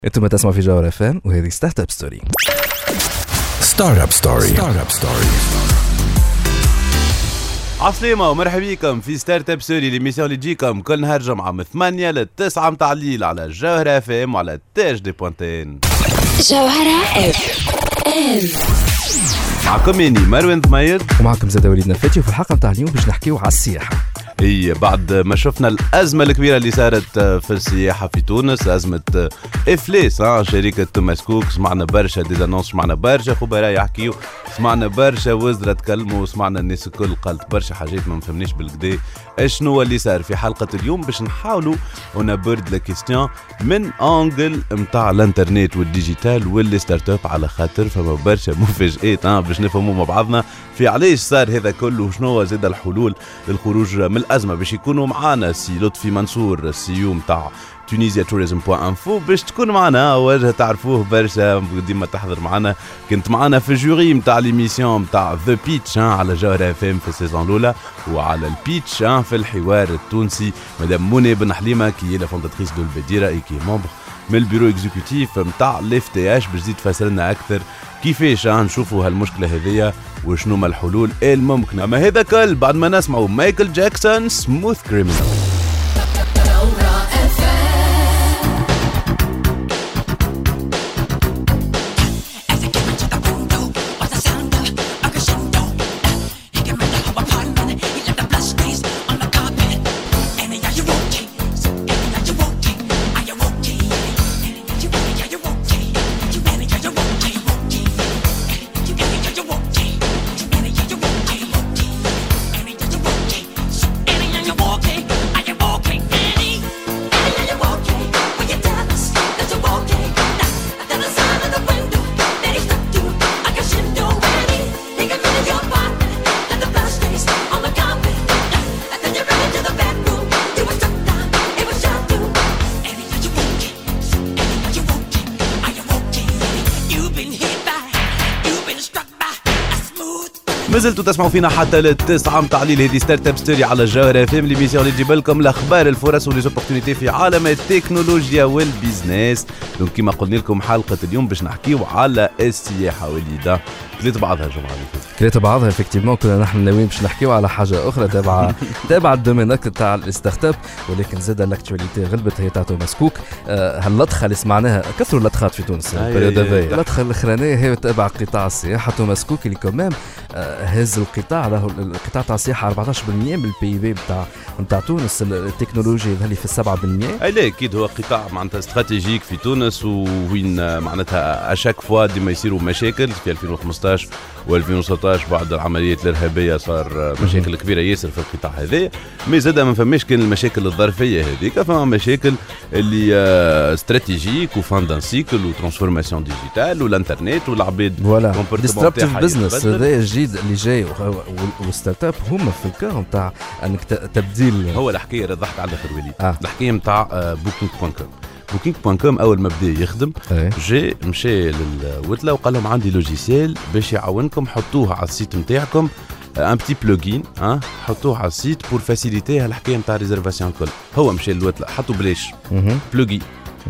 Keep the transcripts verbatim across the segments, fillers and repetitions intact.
انتم تسمعوا في جوهر اف ام وهذه ستارت اب ستوري. ستارت اب ستوري ستارت اب ستوري عسلامة ومرحبا بكم في ستارت اب ستوري، ليميسيون اللي تجيكم كل نهار جمعة من ثمانية لتسعة متاع الليل على جوهر اف ام وعلى تاج دي بوانتين. جوهر اف ام معكم اني مروان ثمير ومعكم زاد وليدنا الفاتي، وفي الحلقة متاع اليوم باش نحكيو على السياحة. هي بعد ما شفنا الأزمة الكبيرة اللي صارت في السياحة في تونس، أزمة إفلاس ها شركة توماس كوك، سمعنا برشا ديزانونس، سمعنا برشا خبراء يحكيو، سمعنا برشا وزراء تكلموا، سمعنا الناس الكل قالت برشا حاجات ما نفهمناش بالكدا اشنو اللي صار. في حلقة اليوم باش نحاولوا ونبرد لا كيستيون من أنجل متاع الانترنت والديجيتال واللي ستارت اب، على خاطر فما برشا مفاجآت ها باش نفهموا مع بعضنا في علاش صار هذا كله وشنو زاد الحلول للخروج من الأزمة. باش يكونوا معانا سي لطفي منصور السيو متاع تونيزيا توريزم بوان انفو، باش تكون معنا وجه تعرفوه برشا ديما تحضر معنا، كنت معنا في الجوري متاع ليميسيون متاع ذا بيتش على جوهر اف ام في السيزون الاولى، وعلى البيتش في الحوار التونسي مدام منى بن حليمه كي هي لا فونداتريس دو البديره اي كي ممبر من البيرو اكزيكوتيف متاع الاف تي اش، باش تزيد تفسر لنا اكثر كيفاش نشوفوا هالمشكله هذيا وشنو ما الحلول الممكنه. اما هذا كل بعد ما نسمعوا مايكل جاكسون سموث كريمنال. مازلتوا تسمعوا فينا حتى للتسعة متاع الليل. هذه ستارت اب ستوري على الجوهر اف ام، ليميسيون اللي تجيب لكم الاخبار الفرص وليزوبورتينيتي في عالم التكنولوجيا والبيزنس. دونك كما قلنا لكم حلقه اليوم باش نحكيو على السياحه وليده كليت بعضها الجمعه اللي فاتت كليت بعضها افكتيفمون كنا نحن ناويين باش نحكيو على حاجه اخرى تابعه تابعه الدومين تاع الستارت اب، ولكن زاد الاكتواليتي غلبت هي تاع توماس كوك. هاللطخه اللي سمعناها كثروا اللطخات في تونس البريود هذايا. اللطخه الاخرانيه هي تابع قطاع السياحه. توماس كوك اللي كمان هز القطاع له القطاع تاع السياحه أربعطاش بالمئة من البي في بتاع نتاع تونس، التكنولوجيا اللي في سبعة بالمئة. اي لا اكيد هو قطاع معناتها استراتيجيك في تونس، وين معناتها اشاك فوا ديما يصيروا مشاكل. في ألفين وخمسطاش وألفين وستطاش بعد العمليات الارهابيه صار مشاكل كبيره ياسر في القطاع هذا، مي زاد ما فماش كان المشاكل الظرفيه هذيك، فما مشاكل اللي استراتيجيك وفاندان سيكل وترانسفورماسيون ديجيتال والانترنت والعباد فوالا ديستربتيف بزنس. هذا الجديد اللي جاي والستارت اب هما في الكار نتاع انك تبديل. هو الحكايه اللي ضحك على الاخر وليد آه. الحكايه نتاع بوكينج بوان كوم. بوكينج بوان كوم اول ما بدا يخدم جاي مشى للوتله وقال لهم عندي لوجيسيال باش يعاونكم، حطوه على السيت نتاعكم ان بتي بلوجين ها حطوه على السيت بور فاسيليتي هالحكايه نتاع ريزرفاسيون الكل. هو مشى للوتله حطوا بلاش بلوجين.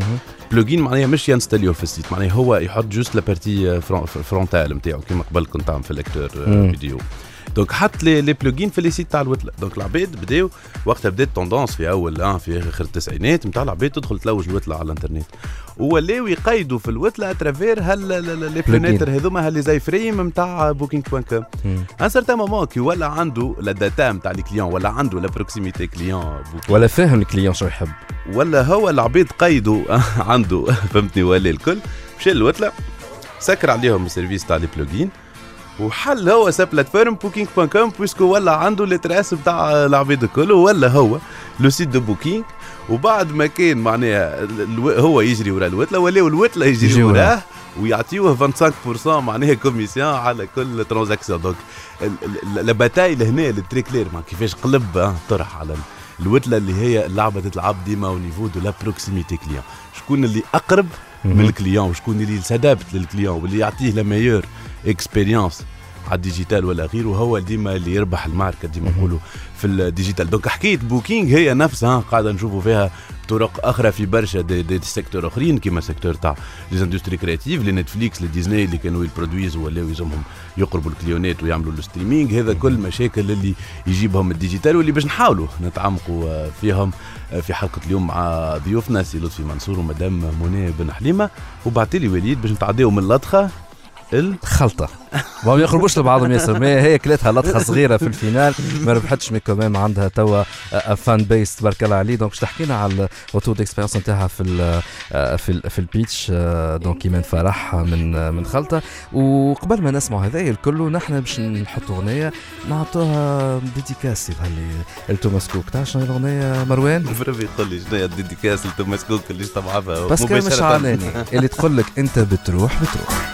بلوجين معناها مش ينستاليو في السيت، معناها هو يحط جوست لا بارتي فرونتال نتاعو كيما قبل كنت عم في الاكتور فيديو. دونك حط لي لي بلوجين في لي سيت تاع الوتله. دونك العباد بداو وقتها بدات توندونس في اول اه في اخر التسعينات نتاع العباد تدخل تلوج الوتله على الانترنت، ولاو يقيدوا في الوتله اترافير هال لي بلانيتر هذوما هاللي زي فريم نتاع بوكينج بوان كوم. ان سارتان مومون كي ولا عنده لا داتا نتاع لي كليون، ولا عنده لا بروكسيميتي كليون، ولا فاهم الكليون شو يحب، ولا هو العباد قيدوا عنده فهمتني، ولا الكل مشى الوتله سكر عليهم السيرفيس تاع لي بلوجين وحل هو سا بلاتفورم بوكينج بوان كوم، بويسكو ولا عنده لي تراس نتاع العباد الكل، ولا هو لو سيت دو بوكينج. وبعد ما كان معناها هو يجري ورا الوتله، ولاو الوتله يجري وراه ويعطيوه خمسة وعشرين بالمئة معناها كوميسيون على كل ترانزاكسيون. دونك لا باتاي لهنا التري كلير مع كيفاش قلب طرح على الوتله اللي هي اللعبه تلعب ديما او نيفو دو لا بروكسيميتي كليون، شكون اللي اقرب من الكليون وشكون اللي سادابت للكليون واللي يعطيه لا ميور اكسبيريونس على الديجيتال ولا غيره، وهو ديما اللي يربح المعركه ديما نقولوا في الديجيتال. دونك حكايه بوكينج هي نفسها قاعده نشوفوا فيها بطرق اخرى في برشا دي, دي, دي سيكتور اخرين كيما سيكتور تاع لي اندستري كرياتيف، لي نتفليكس، لي ديزني اللي كانوا يبرودويزوا ولاو يلزمهم يقربوا الكليونات ويعملوا الستريمينغ. هذا كل مشاكل اللي يجيبهم الديجيتال واللي باش نحاولوا نتعمقوا فيهم في حلقه اليوم مع ضيوفنا سي لطفي منصور ومدام منى بن حليمه. وبعتلي وليد باش نتعداو من اللطخه الخلطه ما يقربوش لبعضهم ياسر، ما هي كلاتها لطخه صغيره في الفينال ما ربحتش، مي كمان عندها توا فان بيس تبارك الله عليه. دونك باش تحكينا على الروتور ديكسبيريونس نتاعها في ال في ال في البيتش دونك ايمان فرح من من خلطه. وقبل ما نسمعوا هذايا الكل نحن باش نحطوا اغنيه نعطوها ديديكاس لتوماس كوك. تعرف شنو الاغنيه مروان؟ برافو يقول لي شنو هي الديديكاس لتوماس كوك اللي استبعدها بس كان مش عاناني اللي تقول لك انت بتروح بتروح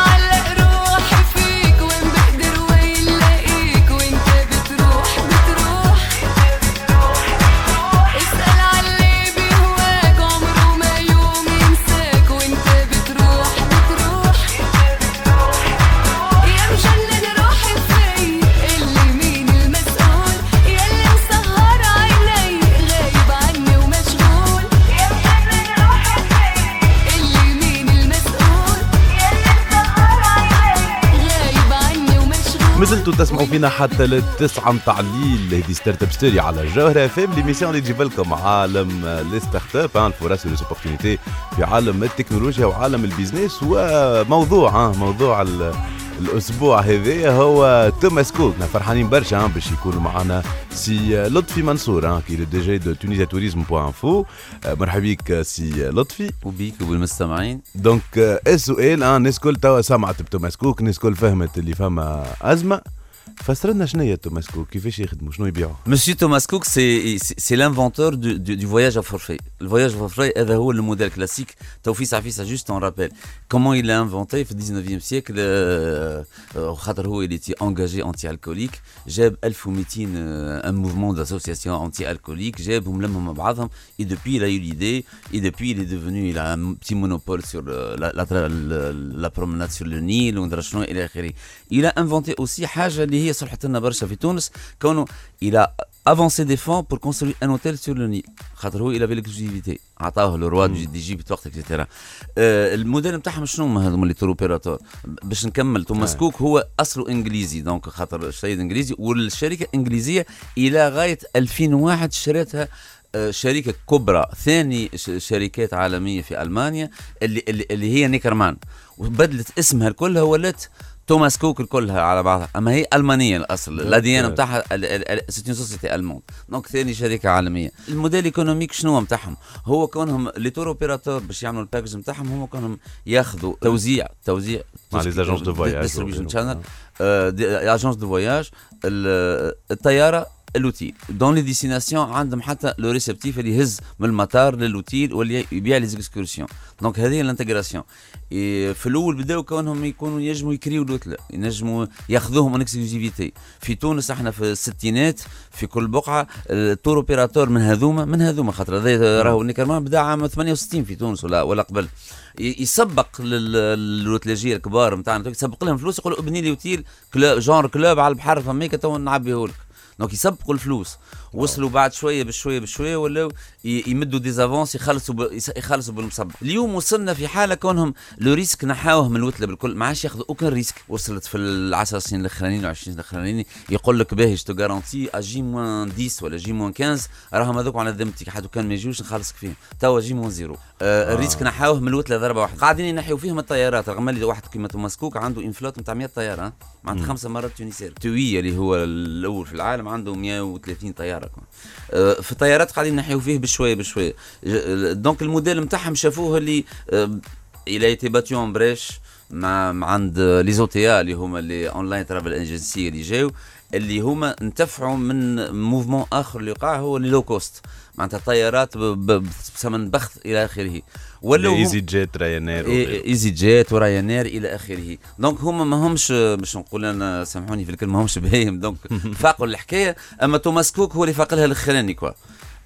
مازلتوا تسمعوا فينا حتى للتسعة متاع الليل. هذه ستارت اب ستوري على الجوهرة فيم، ليميسيون اللي تجيب لكم عالم لي ستارت اب، الفرص والأوبورتونيتي في عالم التكنولوجيا وعالم البيزنس. وموضوع موضوع الأسبوع هذا هو توماس كوك. فرحانين برشا باش يكونوا معنا سي لطفي منصور كي دي جي دو تونيزيا توريزم بوان انفو. مرحبا بك سي لطفي. وبيك وبالمستمعين. دونك السؤال الناس كل توا سمعت بتوماس كوك، الناس كل فهمت اللي فما أزمة. فسرنا شنو هي توماس كوك، كيفاش يخدموا، شنو يبيعوا؟ Monsieur Thomas Cook, c'est c'est l'inventeur du, du, du voyage à forfait. Le voyage à forfait, هذا هو le modèle classique. Taoufis Afis a juste en rappel. Comment il l'a inventé في dix-neuvième siècle. خاطر هو il était engagé anti-alcoolique. جاب ألف ومئتين un mouvement d'association anti-alcoolique. جابهم لمهم مع بعضهم. Et depuis il a eu l'idée. Et depuis il est devenu, il a un petit monopole sur la, la, la, la promenade sur le Nil وندرا شنو إلى آخره. Il a inventé aussi حاجة اللي هي صلحت لنا برشا في تونس. كونه il a avancé des fonds pour construire un hôtel sur le Nil. خاطر هو il avait l'exclusivité. عطاه le roi du d'Égypte وقت et cetera. الموديل نتاعهم شنو هما هذوما اللي تور اوبيراتور. باش نكمل توماس كوك هو اصله انجليزي، دونك خاطر السيد انجليزي والشركه انجليزيه الى غايه ألفين وواحد شريتها شركه كبرى، ثاني شركات عالميه في المانيا اللي اللي, اللي هي نيكرمان، وبدلت اسمها كلها ولات توماس كوك كلها على بعضها، اما هي المانيه الاصل، الاديان نتاعها سيتي سوسيتي المون. دونك ثاني شركه عالميه. الموديل ايكونوميك شنو نتاعهم؟ هو كونهم لي تور اوبيراتور باش يعملوا الباكج نتاعهم، هم كونهم ياخذوا توزيع توزيع مع لي اجونس دو فواياج، ديستريبيوشن شانل، اجونس دو فواياج، الطياره، اللوتيل. دون لي ديستيناسيون عندهم حتى لو ريسبتيف اللي يهز من المطار للوتيل واللي يبيع لي زيكسكورسيون. دونك هذه الانتجراسيون. في الاول بداو كونهم يكونوا ينجموا يكريو الوتله، ينجموا ياخذوهم من اكسكلوزيفيتي. في تونس احنا في الستينات في كل بقعه التور اوبيراتور من هذوما من هذوما خاطر هذا راهو نيكرمان بدا عام ثمانية وستين في تونس ولا ولا قبل، يسبق للوتلاجيه الكبار نتاعنا، يسبق لهم فلوس، يقولوا ابني لي وتيل كلوب جونر كلوب على البحر فميك تو نعبيه لك. دونك يسبقوا الفلوس. وصلوا بعد شويه بشويه بشويه ولاو يمدوا ديزافونس، يخلصوا ب... يخلصوا بالمسبق. اليوم وصلنا في حاله كونهم لو ريسك نحاوه من الوتله بالكل، ما عادش ياخذوا اوكن ريسك. وصلت في العشر سنين الاخرانيين وعشرين سنين الاخرانيين يقول لك باهي تو غارونتي اجي موان عشرة ولا جي موان خمسة، راهم هذوك على ذمتك، حد كان ما يجوش نخلصك فيهم. توا جي موان زيرو. آه الريسك نحاوه من الوتله ضربه واحده. قاعدين ينحيوا فيهم الطيارات، رغم اللي واحد كيما توماس كوك عنده انفلوت نتاع مئة طياره، معناتها خمسه مرات تونسير. توي اللي هو الاول في العالم عنده مئة وثلاثين طياره. في الطيارات قاعدين نحيو فيه بشويه بشويه. دونك الموديل نتاعهم شافوه اللي الى ايتي باتيون بريش مع عند لي زوتيا اللي هما اللي اونلاين ترافل ايجنسي اللي جاو، اللي هما انتفعوا من موفمون اخر اللي وقع، هو اللي لو كوست، معناتها طيارات بثمن بخس الى اخره. ولا ايزي جيت رايانير ايزي جيت ورايانير الى اخره. دونك هما ما همش باش نقول انا سامحوني في الكلمه ما همش باهيم، دونك فاقوا الحكايه. اما توماس كوك هو اللي فاق لها الاخراني كوا.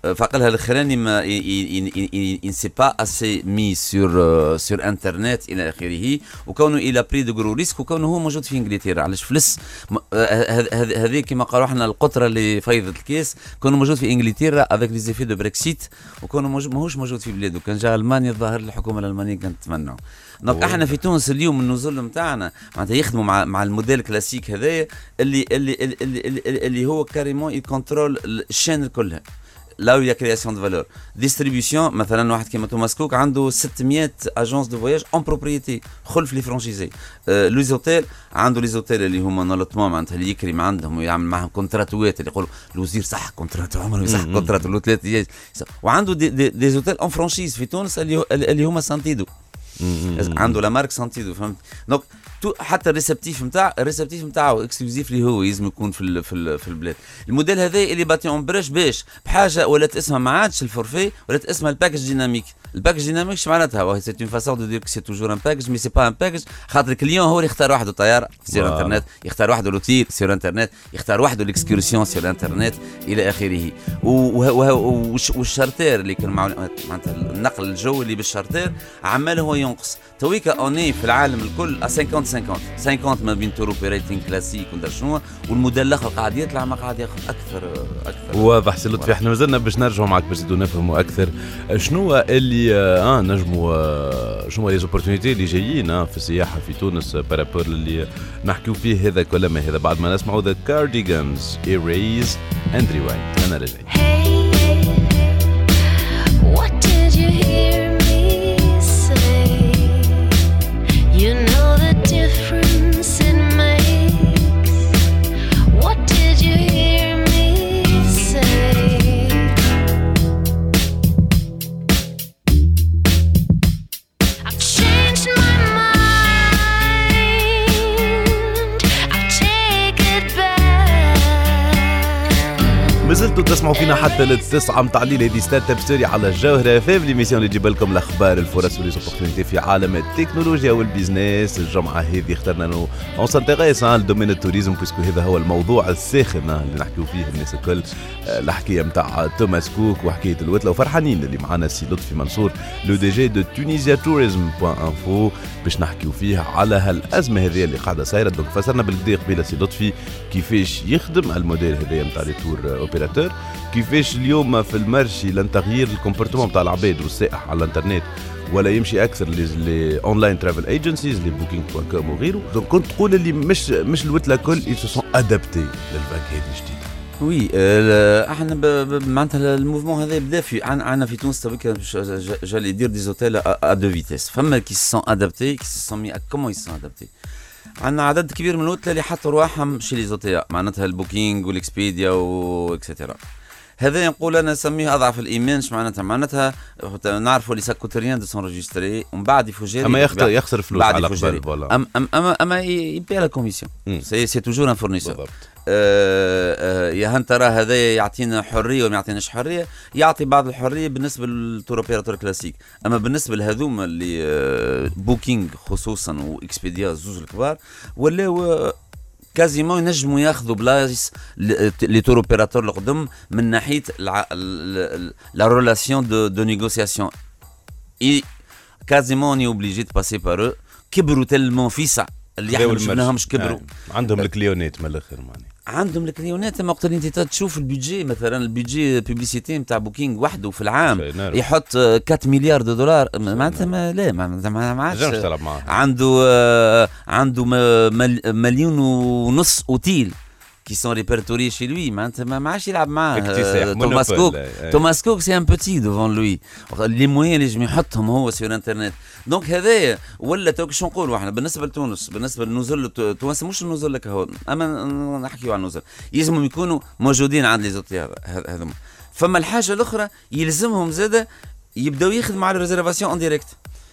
فقالها الاخراني ما ان سي با اسي مي سور سور انترنت الى اخره، وكونه الى بري دو غرو ريسك، وكونه هو موجود في انجلترا. علاش فلس هذه كما قالوا احنا القطره اللي فيضت الكيس، كونه موجود في انجلترا افيك لي زيفي دو بريكسيت، وكونه ماهوش موجود في بلاده. كان جا المانيا الظاهر الحكومه الالمانيه كانت تتمنعه. دونك احنا في تونس اليوم النزول نتاعنا معناتها يخدموا مع مع الموديل كلاسيك هذايا اللي اللي اللي, اللي, اللي هو كاريمون يكونترول الشين كلها. لا ويا كرياسيون دو فالور ديستريبيسيون. مثلا واحد كيما توماس كوك عنده ستمية اجونس دو فواياج اون بروبريتي خلف لي فرانشيزي. آه لي زوتيل عنده لي زوتيل اللي هما نولطمون معناتها اللي يكرم عندهم ويعمل معهم كونتراتوات اللي يقولوا الوزير صح كونترات عمره يصح كونترات له ثلاث ايام. وعنده دي, دي, دي زوتيل اون فرانشيز في تونس اللي اللي هما سانتيدو. عنده لا مارك سانتيدو فهمت. دونك حتى الريسبتيف نتاع الريسبتيف نتاعو اكسكلوزيف اللي هو لازم يكون في ال في ال في البلاد. الموديل هذا اللي باتي اون بريش باش بحاجه ولات اسمها ما عادش الفورفي، ولات اسمها الباكج ديناميك. الباكج ديناميك اش معناتها؟ سي اون فاسون دو دير كو سي توجور ان باكج مي سي با ان باكج، خاطر الكليون هو اللي يختار وحده الطياره سير انترنت، يختار وحده لوتيل سير انترنت، يختار وحده الاكسكورسيون سير انترنت الى اخره. والشارتير اللي كان معناتها النقل الجوي اللي بالشارتير عمال هو ينقص. تويكا اوني في العالم الكل خمسين خمسين خمسين ما بين تور اوبريتنج كلاسيك وندر شنو، والموديل الاخر قاعد يطلع ما قاعد ياخذ اكثر اكثر. واضح سي لطفي. احنا مازلنا باش نرجعوا معك باش نزيدوا نفهموا اكثر شنو اللي اه نجموا آه شنو لي زوبورتونيتي اللي جايين آه في السياحه في تونس بارابور اللي نحكيو فيه هذا كل ما هذا بعد ما نسمعوا ذا كارديغانز ايريز اند ريوايند. انا رجعت. You know the difference it makes. What did you hear me say? I've changed my mind. I'll take it back. مازلتوا تسمعوا فينا حتى للتسعة متاع الليل. هذه ستارت اب ستوري على الجوهرة فام ليميسيون اللي تجيب لكم الاخبار الفرص والليزوبورتينيتي في عالم التكنولوجيا والبيزنس. الجمعة هذه اخترنا انه اون سانتيغيس على الدومين التوريزم باسكو هذا هو الموضوع الساخن اللي نحكيو فيه الناس الكل. الحكاية متاع توماس كوك وحكاية الوتلة، وفرحانين اللي معنا السي لطفي منصور لو دي جي دو تونيزيا توريزم بوان انفو باش نحكيو فيه على هالازمة هذه اللي قاعدة صايرة. دونك فسرنا بالكدا قبيله سي لطفي كيفاش يخدم الموديل هذايا متاع لي تور اوبيراتور، كيفاش اليوم في المارشي لن تغيير الكومبورتمون تاع العباد والسائح على الانترنت ولا يمشي اكثر لي اونلاين ترافل ايجنسيز لي بوكينغ دوت كوم وغيره. دونك كنت تقول اللي مش مش الوتله كل ils se sont adaptés للفاك هذه الجديده. وي احنا معناتها الموفمون هذا بدا في عندنا في تونس تويك جالي يدير دي زوتيل ا دو فيتيس. فما كي سون ادابتي كي سون مي كومون يس سون ادابتي. عندنا عدد كبير من الوتله اللي حطوا رواحهم شي لي زوتيل معناتها البوكينغ والاكسبيديا واكسترا. هذا نقول انا نسميه اضعف الايمان. اش معناتها؟ معناتها نعرفوا اللي ساكو تريان دو سون ريجستري ومن بعد يفوجيري اما يخسر يخسر فلوس على قبل فوالا. اما اما اما يبيع لا كوميسيون سي سي توجور ان فورنيسور. يا هل ترى هذا يعطينا حريه ولا ما يعطيناش حريه؟ يعطي بعض الحريه بالنسبه للتور اوبيراتور كلاسيك، اما بالنسبه لهذوما اللي بوكينغ خصوصا واكسبيديا زوج الكبار ولا كازيمون ينجموا ياخذوا بلايص لي تور اوبيراتور القدم من ناحيه لا ريلاسيون دو دو نيغوسياسيون. اي كازيمون ني اوبليجي دو باسي بار كبروا تلمون فيسع اللي احنا ما شفناهمش كبروا. آه. عندهم الكليونات من الاخر معني عندهم الكليونات. اما وقت اللي انت تشوف البيجي مثلا البيجي بيبليسيتي نتاع بوكينغ وحده في العام يحط أربعة مليار دو دولار معناتها ما لا معناتها ما عادش عنده آه عنده مليون ونص اوتيل qui sont répertoriés chez lui. Maintenant, ما عادش يلعب معاه. توماس كوك توماس كوك سي ان بوتي ديفون لوي. لي موين اللي يجم يحطهم هو سير انترنت. دونك هذايا ولا توك شو نقولوا احنا بالنسبه لتونس بالنسبه للنزل تونس مش النزل لك هو اما نحكيوا عن النزل يلزمهم يكونوا موجودين عند لي زوتي هذوما. فما الحاجه الاخرى يلزمهم زاده يبداو يخدموا على الريزرفاسيون اون ديريكت.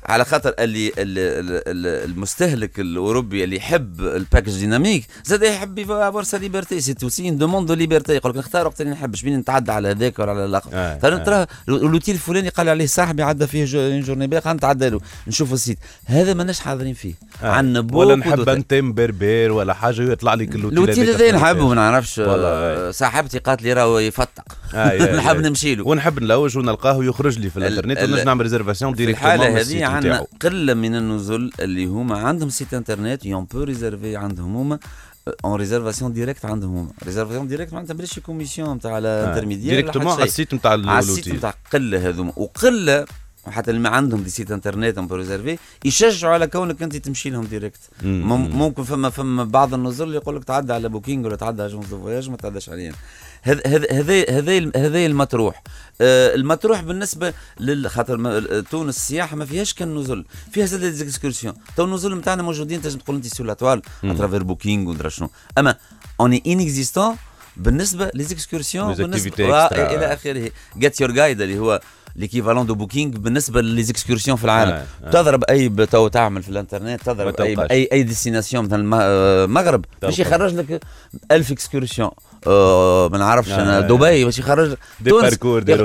على خاطر اللي المستهلك الاوروبي اللي يحب الباكج ديناميك زاد يحب يفوار سا ليبرتي، سي توسي ان دوموند دو ليبرتي. يقول لك نختار وقت اللي نحبش، بين نتعدى على هذاك ولا على الاخر. آه ترى ترى اللوتيل الفلاني قال عليه صاحبي عدى فيه جو جورني باقي نتعدى له نشوف السيت هذا ماناش حاضرين فيه. آه. عندنا بوكو ولا نحب انتم بربر ولا حاجه يطلع لك اللوتيل اللوتيل هذا نحبه ما نعرفش. والله صاحبتي قالت لي راهو يفتق آه نحب نمشي له ونحب نلوج ونلقاه يخرج لي في الانترنت ونجي نعمل ريزرفاسيون ديريكتومون. في الحاله هذه عندنا قله من النزل اللي هما عندهم سيت انترنت يون بو ريزيرفي عندهم هما اون ريزرفاسيون ديريكت عندهم هما. ريزرفاسيون ديريكت معناتها بلاش كوميسيون نتاع الانترميديير ديريكتومون على السيت نتاع اللوتيل، على السيت نتاع قله هذوما. وقله وحتى اللي ما عندهم دي سيت انترنت اون بو ريزيرفي يشجعوا على كونك انت تمشي لهم ديريكت. ممكن فما فما بعض النزل اللي يقول لك تعدى على بوكينج ولا تعدى على اجونس دو فواياج ما تعداش علينا. هذا هذا هذا هذا المطروح. آه المطروح بالنسبه للخاطر تونس السياحه ما فيهاش كان نزل، فيها زاد ديزيكسكورسيون. تو النزل نتاعنا موجودين تنجم تقول انت سور لاتوال اترافير بوكينج ودرا شنو، اما اوني انيكزيستون بالنسبه ليزيكسكورسيون بالنسبه الى اخره. جيت يور جايد اللي هو ليكيفالون دو بوكينج بالنسبه لليزيكسكورسيون في العالم. آه آه. تضرب اي تو تعمل في الانترنت تضرب اي اي اي ديستيناسيون مثل المغرب باش يخرج لك ألف اكسكورسيون. آه ما نعرفش انا آه دبي باش يخرج تونس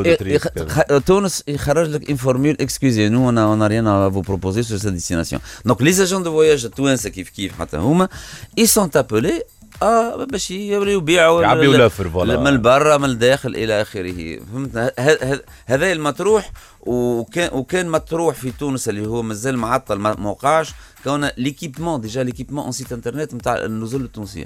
تونس يخرج لك ان فورمول اكسكوزي نو انا انا ريان فو بروبوزي سور سا ديستيناسيون. دونك لي اجون دو فواياج التوانسه كيف كيف حتى هما اي سون ابولي اه باش يبيعوا يعبيوا لافر فوالا من البرا من الداخل الى اخره. فهمت هذا المطروح. وكان وكان مطروح في تونس اللي هو مازال معطل ما وقعش كون ليكيبمون ديجا ليكيبمون اون سيت انترنت نتاع النزل التونسيه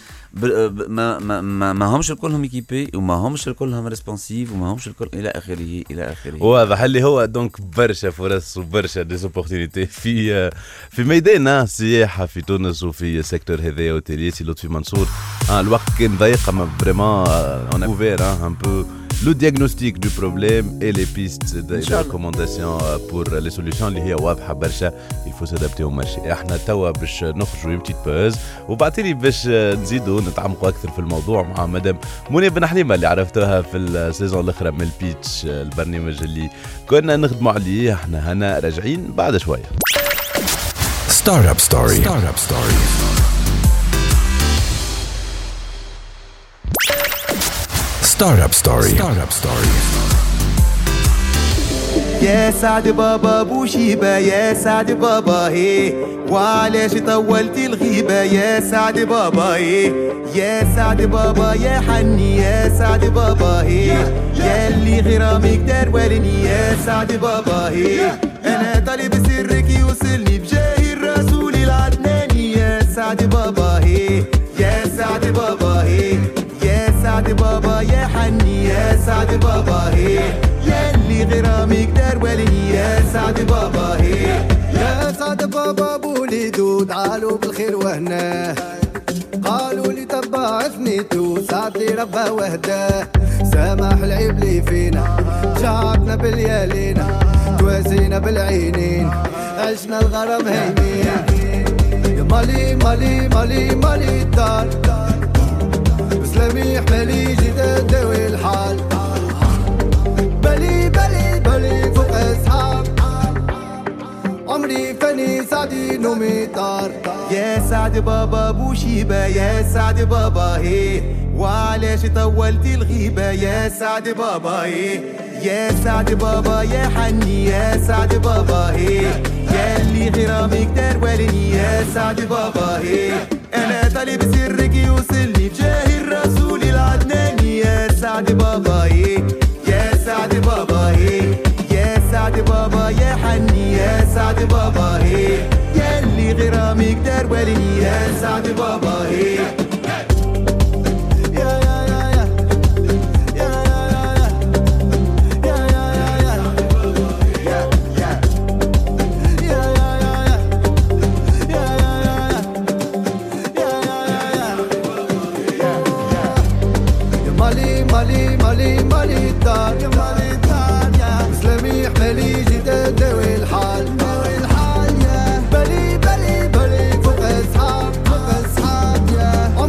ما ما ما, ما همش الكلهم ايكيبي وما همش الكلهم ريسبونسيف وما همش الكل الى اخره الى اخره. واضح اللي هو دونك برشا فرص وبرشا ديزوبورتينيتي في في ميدان السياحه في تونس وفي السيكتور هذايا اوتيلي. سي لطفي منصور آه الوقت كان ضيق اما فريمون اون اوفير ان بو le diagnostic du problème et les pistes de recommandations pour les solutions اللي هي واضحه برشا. il faut s'adapter au marché. احنا توا باش نخرجوا يمتي باز وبعتلي باش نزيدوا نتعمقوا اكثر في الموضوع مع مدام منى بن حليمه اللي عرفتوها في السيزون الاخرى من البيتش البرنامج اللي كنا نخدموا عليه. احنا هنا راجعين بعد شويه. ستارت اب ستوري. ستارت اب ستوري. Startup Story. Startup Story. يا سعد بابا بوشيبة يا سعد بابا هي وعلاش طولتي الغيبة يا سعد بابا هي يا سعد بابا يا حني يا سعد بابا هي يا اللي غرامك دار والني يا سعد بابا هي أنا طالب سرك يوصلني بجاه الرسول العدناني يا سعد بابا هي يا سعد بابا هي يا سعد بابا يا حني يا سعد بابا هي يا اللي غرامك دار والني يا سعد بابا هي يا سعد بابا بوليدو تعالوا بالخير وهنا قالوا لي تبع ثنيتو سعد لي ربا وهداه سامح العيب لي فينا شعبنا باليالينا توازينا بالعينين عشنا الغرام هيمين يا مالي مالي مالي مالي الدار سلامي حمالي جيت نداوي الحال بلي بلي بلي فوق اصحاب عمري فاني سعدي نومي طار يا سعد بابا بوشيبة يا سعد بابا هي وعلاش طولتي الغيبة يا سعد بابا هي يا سعد بابا يا حني يا سعد بابا هي يا اللي غرامك دار والني يا سعد بابا هي أنا طالب سرك يوصلني بجاه الرسول العدناني يا سعد بابا هي يا سعد بابا هي يا سعد بابا يا حني يا سعد بابا هي يا اللي غرامك دار والني يا سعد بابا هي مالي مالي مالي الدار يا مالي الدار يا سلامي حمالي جيت نداوي الحال نداوي الحال يا بلي بلي بلي فوق اصحاب فوق اصحاب يا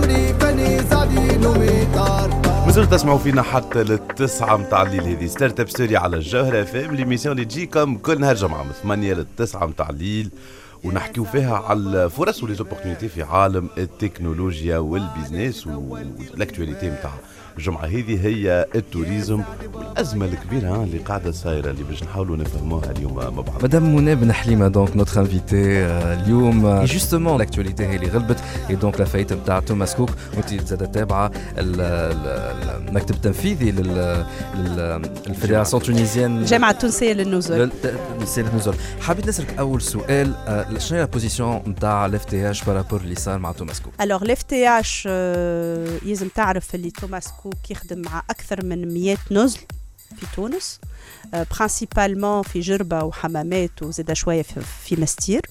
مازلتوا تسمعوا فينا حتى للتسعة متاع الليل. هذه ستارت اب ستوري على الجوهرة فام، ليميسيون اللي تجيكم كل نهار جمعة من ثمانية للتسعة متاع الليل، ونحكيو فيها على الفرص وليزوبورتينيتي في عالم التكنولوجيا والبيزنس. والاكtualité متاع الجمعة هذه هي التوريزم والأزمة الكبيرة اللي قاعدة صايرة اللي باش نحاولوا نفهموها اليوم مع بعض. مدام منى بن حليمة دونك نوتر انفيتي اليوم جوستومون الاكtualité هي اللي غلبت اي دونك لافايت نتاع توماس كوك، وانت زاد تابعة المكتب التنفيذي للفيدراسيون تونيزيان الجامعة التونسية للنزل. للنزل حبيت نسألك أول سؤال، شنو هي البوزيسيون نتاع الاف تي اش بارابور اللي صار مع توماس كوك؟ الوغ الاف تي اش يلزم تعرف اللي توماس كوك يخدم مع أكثر من مئة نزل في تونس، برانسيبالمون في جربة وحمامات وزيدا شوية في مستير.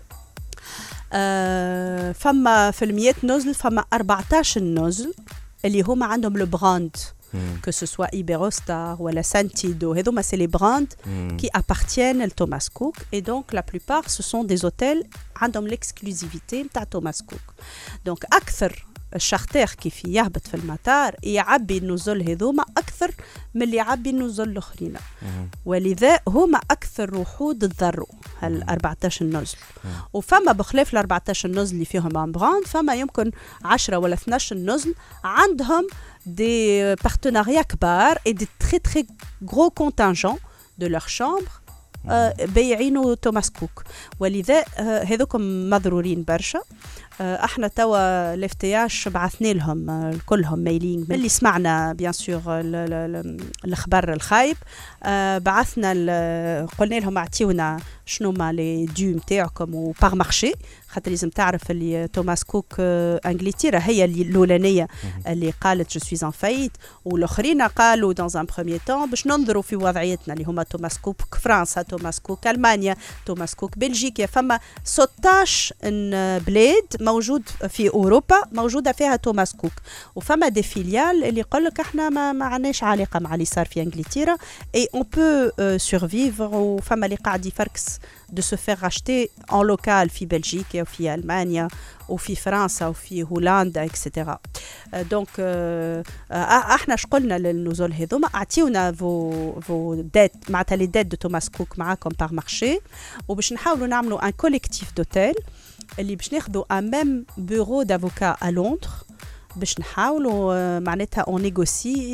فما في المئة نزل فما أربعتاش نزل اللي هما عندهم لو براند que ce soit Iberostar ou la Santido, هذوما c'est les brands qui appartiennent à Thomas Cook, et donc la plupart ce sont des hôtels عندهم l'exclusivité نتاع توماس كوك. donc أكثر الشارتر كيف يهبط في المطار يعبي النزل هذوما أكثر من اللي يعبي النزل الآخرين، ولذا هما أكثر وحود تضروا هال أربعتاش نزل. وفما بخلاف ال أربعتاش نزل اللي فيهم ان براند، فما يمكن عشرة ولا اثناش نزل عندهم des partenariats كبار et des très très gros contingents de leur chambre بيعينوا توماس كوك، ولذا هذوكم مضرورين برشا. احنا توا الافتياش بعثنا لهم كلهم ميلينغ اللي سمعنا بيان سور الخبر الخايب، بعثنا قلنا لهم اعطيونا شنو ما لي ديو نتاعكم وبار مارشي، خاطر لازم تعرف اللي توماس كوك انجلترا هي الاولانيه اللي قالت جو سويز ان فايت، والاخرين قالوا دون ان بروميير طون باش ننظروا في وضعيتنا اللي هما توماس كوك فرنسا، توماس كوك المانيا، توماس كوك بلجيكا. فما ستطاش بلاد موجود في اوروبا موجوده فيها توماس كوك، وفما دي فيليال اللي يقول لك احنا ما, ما عندناش علاقه مع اللي صار في انجلترا اي اون بو سورفيفر. وفما اللي قاعد يفركس de se faire racheter en local في بلجيكا وفي ألمانيا وفي فرنسا وفي هولندا اكسترا. دونك احنا شقلنا للنزول هذوما اعطيونا فو فو دات معناتها لي دات دو توماس كوك معاكم بار مارشي، وباش نحاولوا نعملوا ان كوليكتيف دوتيل اللي باش ناخذوا ان ميم بيرو دافوكا ا لندن باش نحاولوا معناتها اون نيغوسي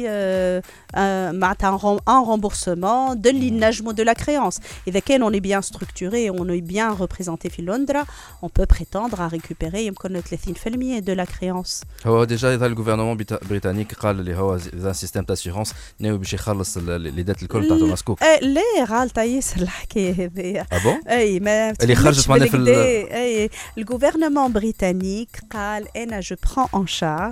معناتها ان رومبورسمون دو اللي نجموا دو لا كريونس. اذا كان اون بيان ستركتوري اون اي بيان ريبريزونتي في لندن اون بو بريتوندر ا ريكوبيري يمكن ثلاثين بالمئة دو لا كريونس. هو ديجا اذا الغوفرنمون البريطانيك قال اللي هو ذا سيستم تاسيورونس ناوي باش يخلص لي دات الكل تاع توماس كوك. لا غالطه ياسر الحكايه هذيا. اه بون اي ما اللي خرجت معنا في اي الغوفرنمون بريطانيك قال انا جو برون ان شارج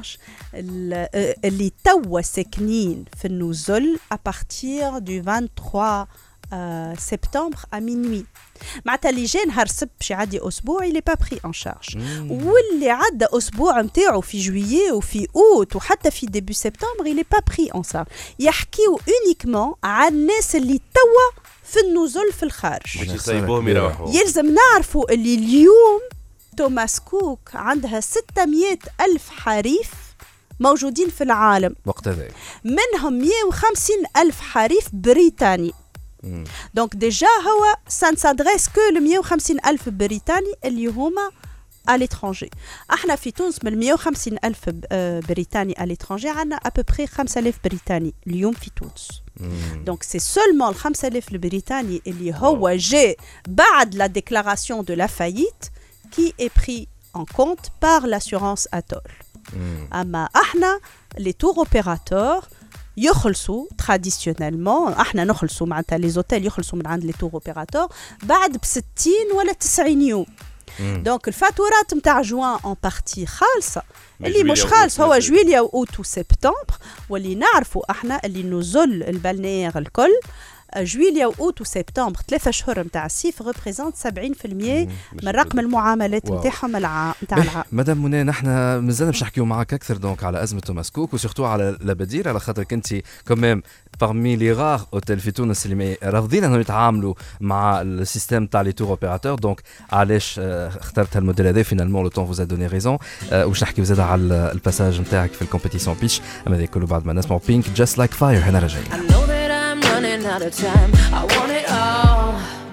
اللي توا ساكنين في النزل ابارتير دو ثلاثة وعشرين سبتمبر ا مينوي، معناتها اللي جا نهار السبت باش يعدي اسبوع اللي با بري ان شارج، واللي عدى اسبوع نتاعو في جويي وفي اوت وحتى في ديبي سبتمبر اللي با بري ان شارج. يحكيو اونيكمون على الناس اللي توا في النزل في الخارج باش يصيبوهم يروحوا. يلزم نعرفوا اللي اليوم توماس كوك عندها ستمئة ألف حريف موجودين في العالم وقت هذا، منهم مئة وخمسين ألف حريف بريطاني. دونك ديجا هو سان سادريس كو ل مئة وخمسين ألف بريطاني اللي هما à l'étranger. احنا في تونس من مئة وخمسين ألف بريطاني à l'étranger عندنا à peu près خمسة آلاف بريطاني اليوم في تونس. دونك سي سولمون ال خمسة آلاف البريطاني اللي هو جاء بعد لا ديكلاراسيون دو لا فايت qui est pris en compte par l'assurance Atoll. أما احنا les tour opérateurs يخلصوا traditionnellement، احنا نخلصوا معناتها les hôtels يخلصوا من عند les tour opérateurs بعد بستين ولا تسعين يوم. دونك الفاتورات نتاع جوان اون بارتي خالصه، اللي مش خالص هو جويليا واوت وسبتمبر، واللي نعرفوا احنا اللي نزل البلنير الكل جويليا واوت وسبتمبر ثلاثة شهور نتاع الصيف ريبريزونت سبعين بالمية من رقم المعاملات نتاعهم العام نتاع العام. مدام منى نحن مازلنا باش نحكيو معك اكثر دونك على ازمه توماس كوك وسورتو على لابادير على خاطر كنتي كوميم parmi les rares hôtels في تونس اللي رافضين انهم يتعاملوا مع السيستم تاع لي تور اوبيراتور دونك علاش اخترت هالموديل هذا فينالمون لو طون فوز ا دوني ريزون واش نحكيو زاد على الباساج نتاعك في الكومبيتيسيون بيتش اما هذا كله بعد ما نسمعوا بينك جاست لايك فاير هنا راجعين. Running out of time, I want it all.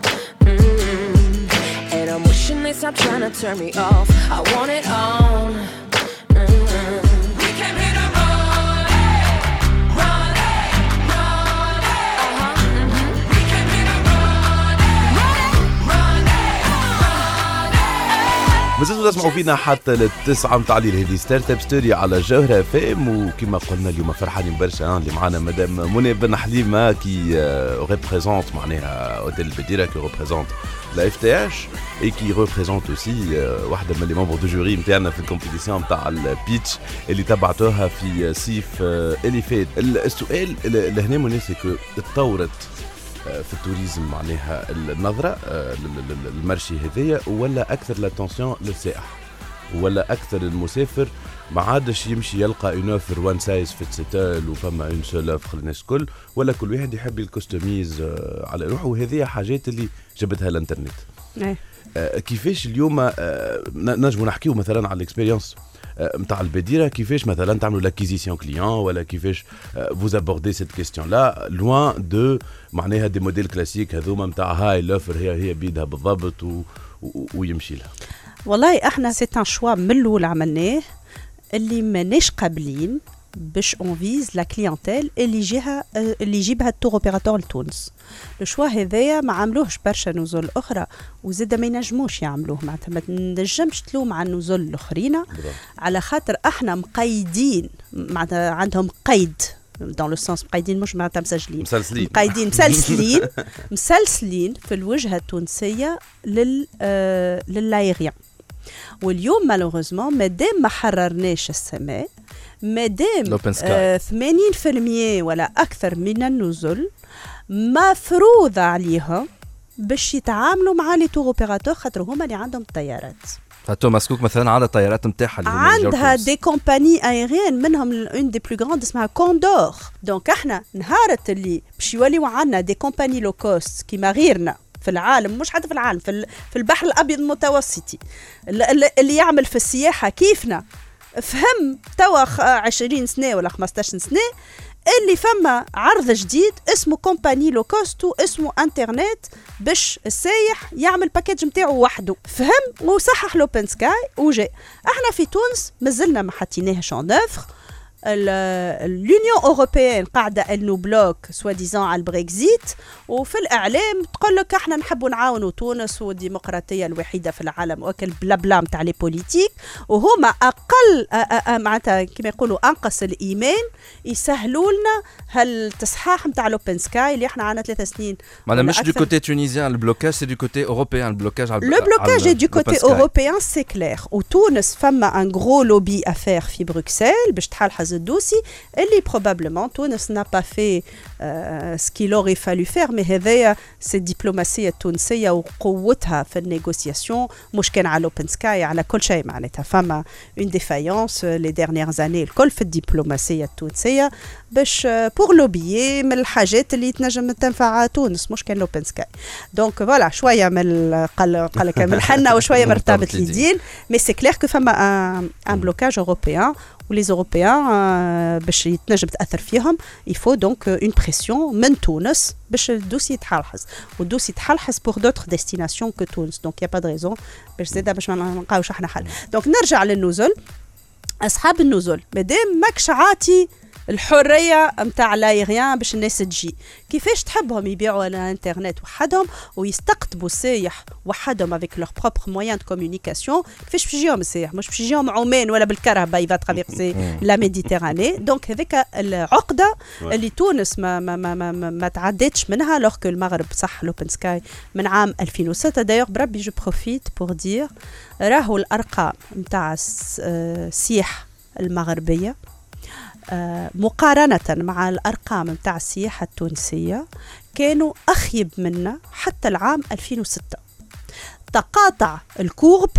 Mm-hmm. And I'm wishing they stop trying to turn me off. I want it all. Mm-hmm. We came here to run it, run it, run it. Uh-huh. Mm-hmm. We came here to run it, run it, run it. مازلتوا تسمعوا فينا حتى للتسعة متاع الليل. هذه ستارت اب ستوري على جوهرة فام، وكما قلنا اليوم فرحانين برشا اللي معنا مدام منى بن حليمة كي ريبريزونت معناها اوتيل البديرة كي ريبريزونت لا اف تي اش اي كي ريبريزونت اوسي واحدة من لي ممبر دو جوري نتاعنا في الكومبيتيسيون نتاع البيتش اللي تبعتوها في صيف اللي فات. السؤال اللي هنا منى سي كو تطورت في التوريزم معناها النظرة المرشي هذية، ولا أكثر لاتونسيون للسائح، ولا أكثر المسافر ما عادش يمشي يلقى اون اوفر وان سايز فيت سيتال وفما اون سول اوفر للناس الكل، ولا كل واحد يحب الكوستوميز على روحه. وهذه حاجات اللي جابتها الانترنت. كيفاش اليوم نجمو نحكيو مثلا على الاكسبيريونس متاع البديرة، كيفاش مثلا تعملوا لاكيزيسيون كليون، ولا كيفاش فوز ابوردي سيت كيستيون لا لوان دو معناها دي موديل كلاسيك هذوما متاع هاي لوفر هي هي بيدها بالضبط و... و... ويمشي لها. والله احنا سيت ان شوا من الاول عملناه اللي ماناش قابلين باش اون فيز لا كليونتيل اللي يجيها اللي يجيبها التور اوبيراتور لتونس. لو شوا هذايا ما عملوهش برشا نزول اخرى وزاد ما ينجموش يعملوه، معناتها ما تنجمش تلوم على النزول الاخرين على خاطر احنا مقيدين، معناتها عندهم قيد دون لو سونس مقيدين مش معناتها مسجلين مسلسلين مقيدين مسلسلين مسلسلين في الوجهه التونسيه لل آه للايريان. واليوم مالوغوزمون مادام ما حررناش السماء، مادام آه ثمانين بالمية ولا أكثر من النزل مفروض عليهم باش يتعاملوا مع لي تور اوبيراتور خاطر هما اللي عندهم الطيارات. فتوماس كوك مثلا على الطيارات نتاعها عندها دي كومباني ايريان منهم اون دي بلو غراند اسمها كوندور. دونك احنا نهارت اللي باش يوليو عندنا دي كومباني لو كوست كيما غيرنا في العالم، مش حتى في العالم، في, في البحر الابيض المتوسطي اللي يعمل في السياحه كيفنا، فهم توا عشرين سنه ولا خمسطاش سنه اللي فما عرض جديد اسمه كومباني لو كوست واسمه انترنت باش السايح يعمل باكيج نتاعو وحده، فهم وصحح لوبن سكاي وجاء. احنا في تونس مازلنا ما حطيناهش اون اوفر. اليونيون اوروبيان قاعده انو بلوك سوا ديزون على البريكزيت، وفي الاعلام تقول لك احنا نحبوا نعاونوا تونس والديمقراطيه الوحيده في العالم واكل بلا بلا نتاع لي بوليتيك، وهما اقل معناتها كما يقولوا انقص الايمان يسهلوا لنا هالتصحاح نتاع لوبن سكاي اللي احنا عندنا ثلاث سنين. معناها مش دو كوتي تونيزيان البلوكاج، سي دو كوتي اوروبيان البلوكاج. على لو بلوكاج دو كوتي اوروبيان سي كلير، وتونس فما ان غرو لوبي افير في بروكسل باش تحلحظ الدوسي اللي probablement تونس n'a pas fait euh, ce qu'il aurait fallu faire. مي هذايا سي الدبلوماسيه التونسيه وقوتها في النيغوسياسيون، مش كان على اوبن سكاي على كل شيء، معناتها فما اون ديفايونس لي ديرنيير اني الكل في الدبلوماسيه التونسيه باش بور لوبيي من الحاجات اللي تنجم تنفع تونس، مش كان لوبن سكاي. دونك فوالا شويه من قال قال لك من الحنه وشويه مرتبط اليدين، مي سي كلير كو فما ان بلوكاج اوروبيان ولي اوروبيان باش يتنجم تاثر فيهم يفو دونك اون بريسيون من تونس باش الدوسي يتحلحظ، والدوسي يتحلحظ بور دوتر ديستيناسيون كو تونس. دونك يا با دو ريزون باش زاده باش ما نلقاوش احنا حل. دونك نرجع للنزل. اصحاب النزل مادام ماكش عاطي الحريه نتاع لايريان باش الناس تجي، كيفاش تحبهم يبيعوا على الانترنت وحدهم ويستقطبوا السايح وحدهم افيك لور بروبر مويان دو كومونيكاسيون، كيفاش باش يجيهم السايح؟ مش باش يجيهم عمان ولا بالكرهبه يفا ترافيرسي لا ميديتيراني. دونك هذيك العقده اللي تونس ما ما ما ما, ما, ما تعدتش منها، لوغ كو المغرب صح لوبن سكاي من عام ألفين وستة. دايوغ بربي جو بروفيت بور دير راهو الارقام نتاع السياح المغربيه آه مقارنة مع الأرقام متاع السياحة التونسية كانوا أخيب منا حتى العام ألفين وستة. تقاطع الكورب،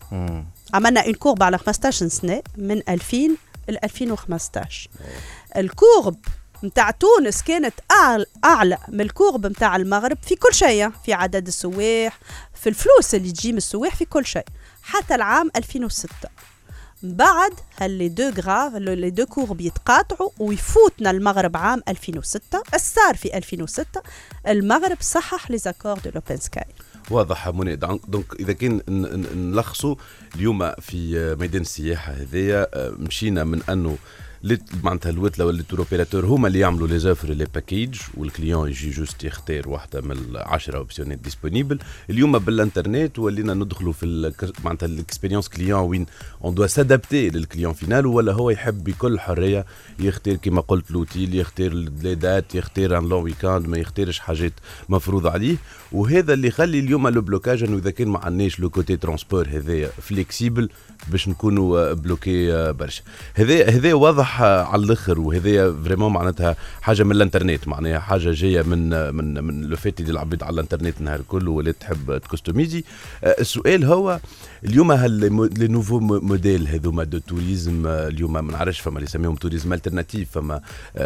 عملنا اون كورب على خمسطاش سنة من ألفين ل ألفين وخمسطاش. الكورب متاع تونس كانت أعلى, أعلى من الكورب متاع المغرب في كل شيء، في عدد السواح، في الفلوس اللي تجي من السواح، في كل شيء، حتى العام ألفين وستة. بعد هاللي دو غراف لي دو كورب يتقاطعوا ويفوتنا المغرب عام ألفين وستة. الصار في ألفين وستة المغرب صحح لي زاكور دو لوبن سكاي. واضح منى. دونك اذا كان نلخصوا اليوم في ميدان السياحه هذايا، مشينا من انه معناتها الوتله ولا التور اوبيراتور هما اللي يعملوا لي زوفر لي باكيج، والكليون يجي جوست يختار واحده من العشرة اوبسيونات ديسپونيبل. اليوم بالانترنت ولينا ندخلوا في معناتها الاكسبيريونس كليون وين اون دو سادابتي للكليون فينال، ولا هو يحب بكل حريه يختار كما قلت لوتيل، يختار لي دات، يختار ان لون ويكاند، ما يختارش حاجات مفروضه عليه. وهذا اللي يخلي اليوم لو بلوكاج انه اذا كان ما عندناش لو كوتي ترونسبور هذايا فليكسيبل باش نكونوا بلوكي برشا. هذا هذا واضح على الاخر، وهذا فريمون معناتها حاجه من الانترنت، معناها حاجه جايه من من من لو فيت اللي العباد على الانترنت النهار كله ولا تحب تكستوميزي. السؤال هو اليوم هل لي نوفو موديل هذوما دو توريزم اليوم ما نعرفش، فما اللي يسميهم توريزم الترناتيف، فما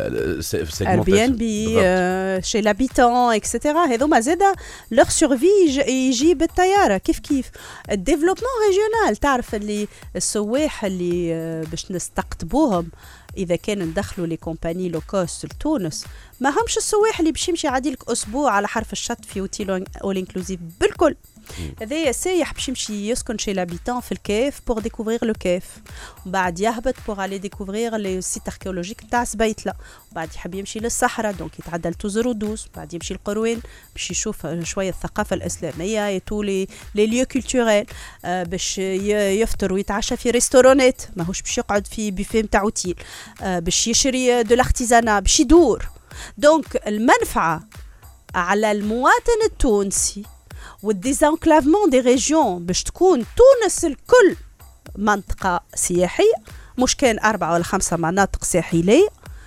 اير بي ان بي شي لابيتون اكسترا، هذوما زاده لوغ سورفي يجي بالطياره كيف كيف. الديفلوبمون ريجيونال، تعرف اللي السواح اللي باش نستقطبوهم اذا كان ندخلوا لي كومباني لو كوست لتونس، ما همش السواح اللي باش يمشي عادي لك اسبوع على حرف الشط في اوتيل اول انكلوزيف بالكل. هذايا سايح باش يمشي يسكن شي لابيتون في الكيف بور ديكوفرير لو كيف، ومن بعد يهبط بور الي ديكوفرير لي سيت اركيولوجيك تاع سبيتله، وبعد يحب يمشي للصحراء دونك يتعدى لتوزر دوس، بعد يمشي القروين باش يشوف شويه الثقافه الاسلاميه، يتو لي لي ليو كولتوريل، آه باش يفطر ويتعشى في ريستورانات، ماهوش باش يقعد في بوفيه نتاع اوتيل، آه باش يشري دو لارتيزانا، باش يدور. دونك المنفعه على المواطن التونسي والديزانكلافمون دي ريجيون باش تكون تونس الكل منطقة سياحية، مش كان أربعة ولا خمسة مناطق ساحلية،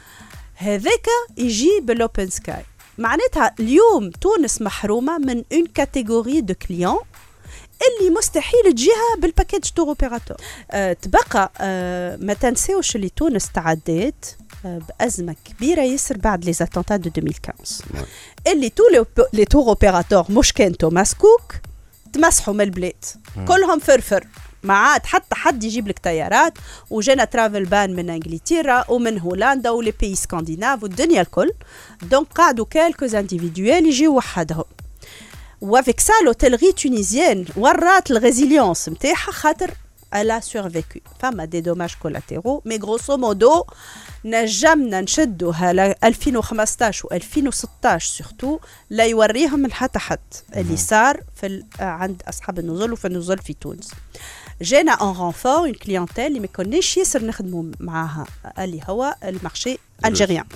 هذاك يجي بالأوبن سكاي. معناتها اليوم تونس محرومة من اون كاتيجوري دو كليون اللي مستحيل تجيها بالباكيج تور اوبيراتور. أه تبقى أه ما تنساوش اللي تونس تعدات بأزمة كبيرة يسر بعد لي زاتونتا دو ألفين وخمسطاش، اللي تو لي تور اوبيراتور مش كان توماس كوك تمسحوا من البلاد كلهم فرفر، ما عاد حتى حد يجيب لك طيارات، وجانا ترافل بان من انجلترا ومن هولندا ولي بي سكانديناف والدنيا الكل. دونك قعدوا كالكوز انديفيدويل يجيو وحدهم، وافيك سا لوتيلري تونيزيان ورات الريزيليونس نتاعها خاطر elle a survécu. فما دي دوماج كولاتيرو، مي غروسو مودو نجمنا نشدوها ل ألفين وخمسطاش و ألفين وستطاش سورتو لا يوريهم من حتى حد اللي صار في عند اصحاب النزل وفي النزل في تونس. جانا ان رونفور اون كليونتيل اللي ما كناش ياسر نخدموا معاها، اللي هو المارشي الجيريان.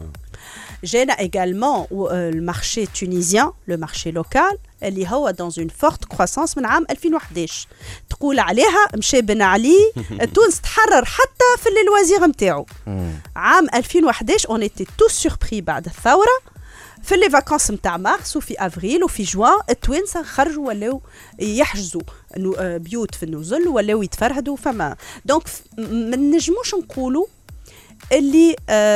جانا également المارشي تونيزيان، لو مارشي لوكال اللي هو dans une forte croissance من عام ألفين وحداش. تقول عليها مشي بن علي تونس تحرر حتى في اللوازير نتاعو. عام ألفين وحداش on était tous surpris بعد الثورة في لي فاكانس نتاع مارس وفي افريل وفي جوان التوانسه خرجوا ولاو يحجزوا بيوت في النزل ولاو يتفرهدوا. فما دونك ما نجموش نقولوا اللي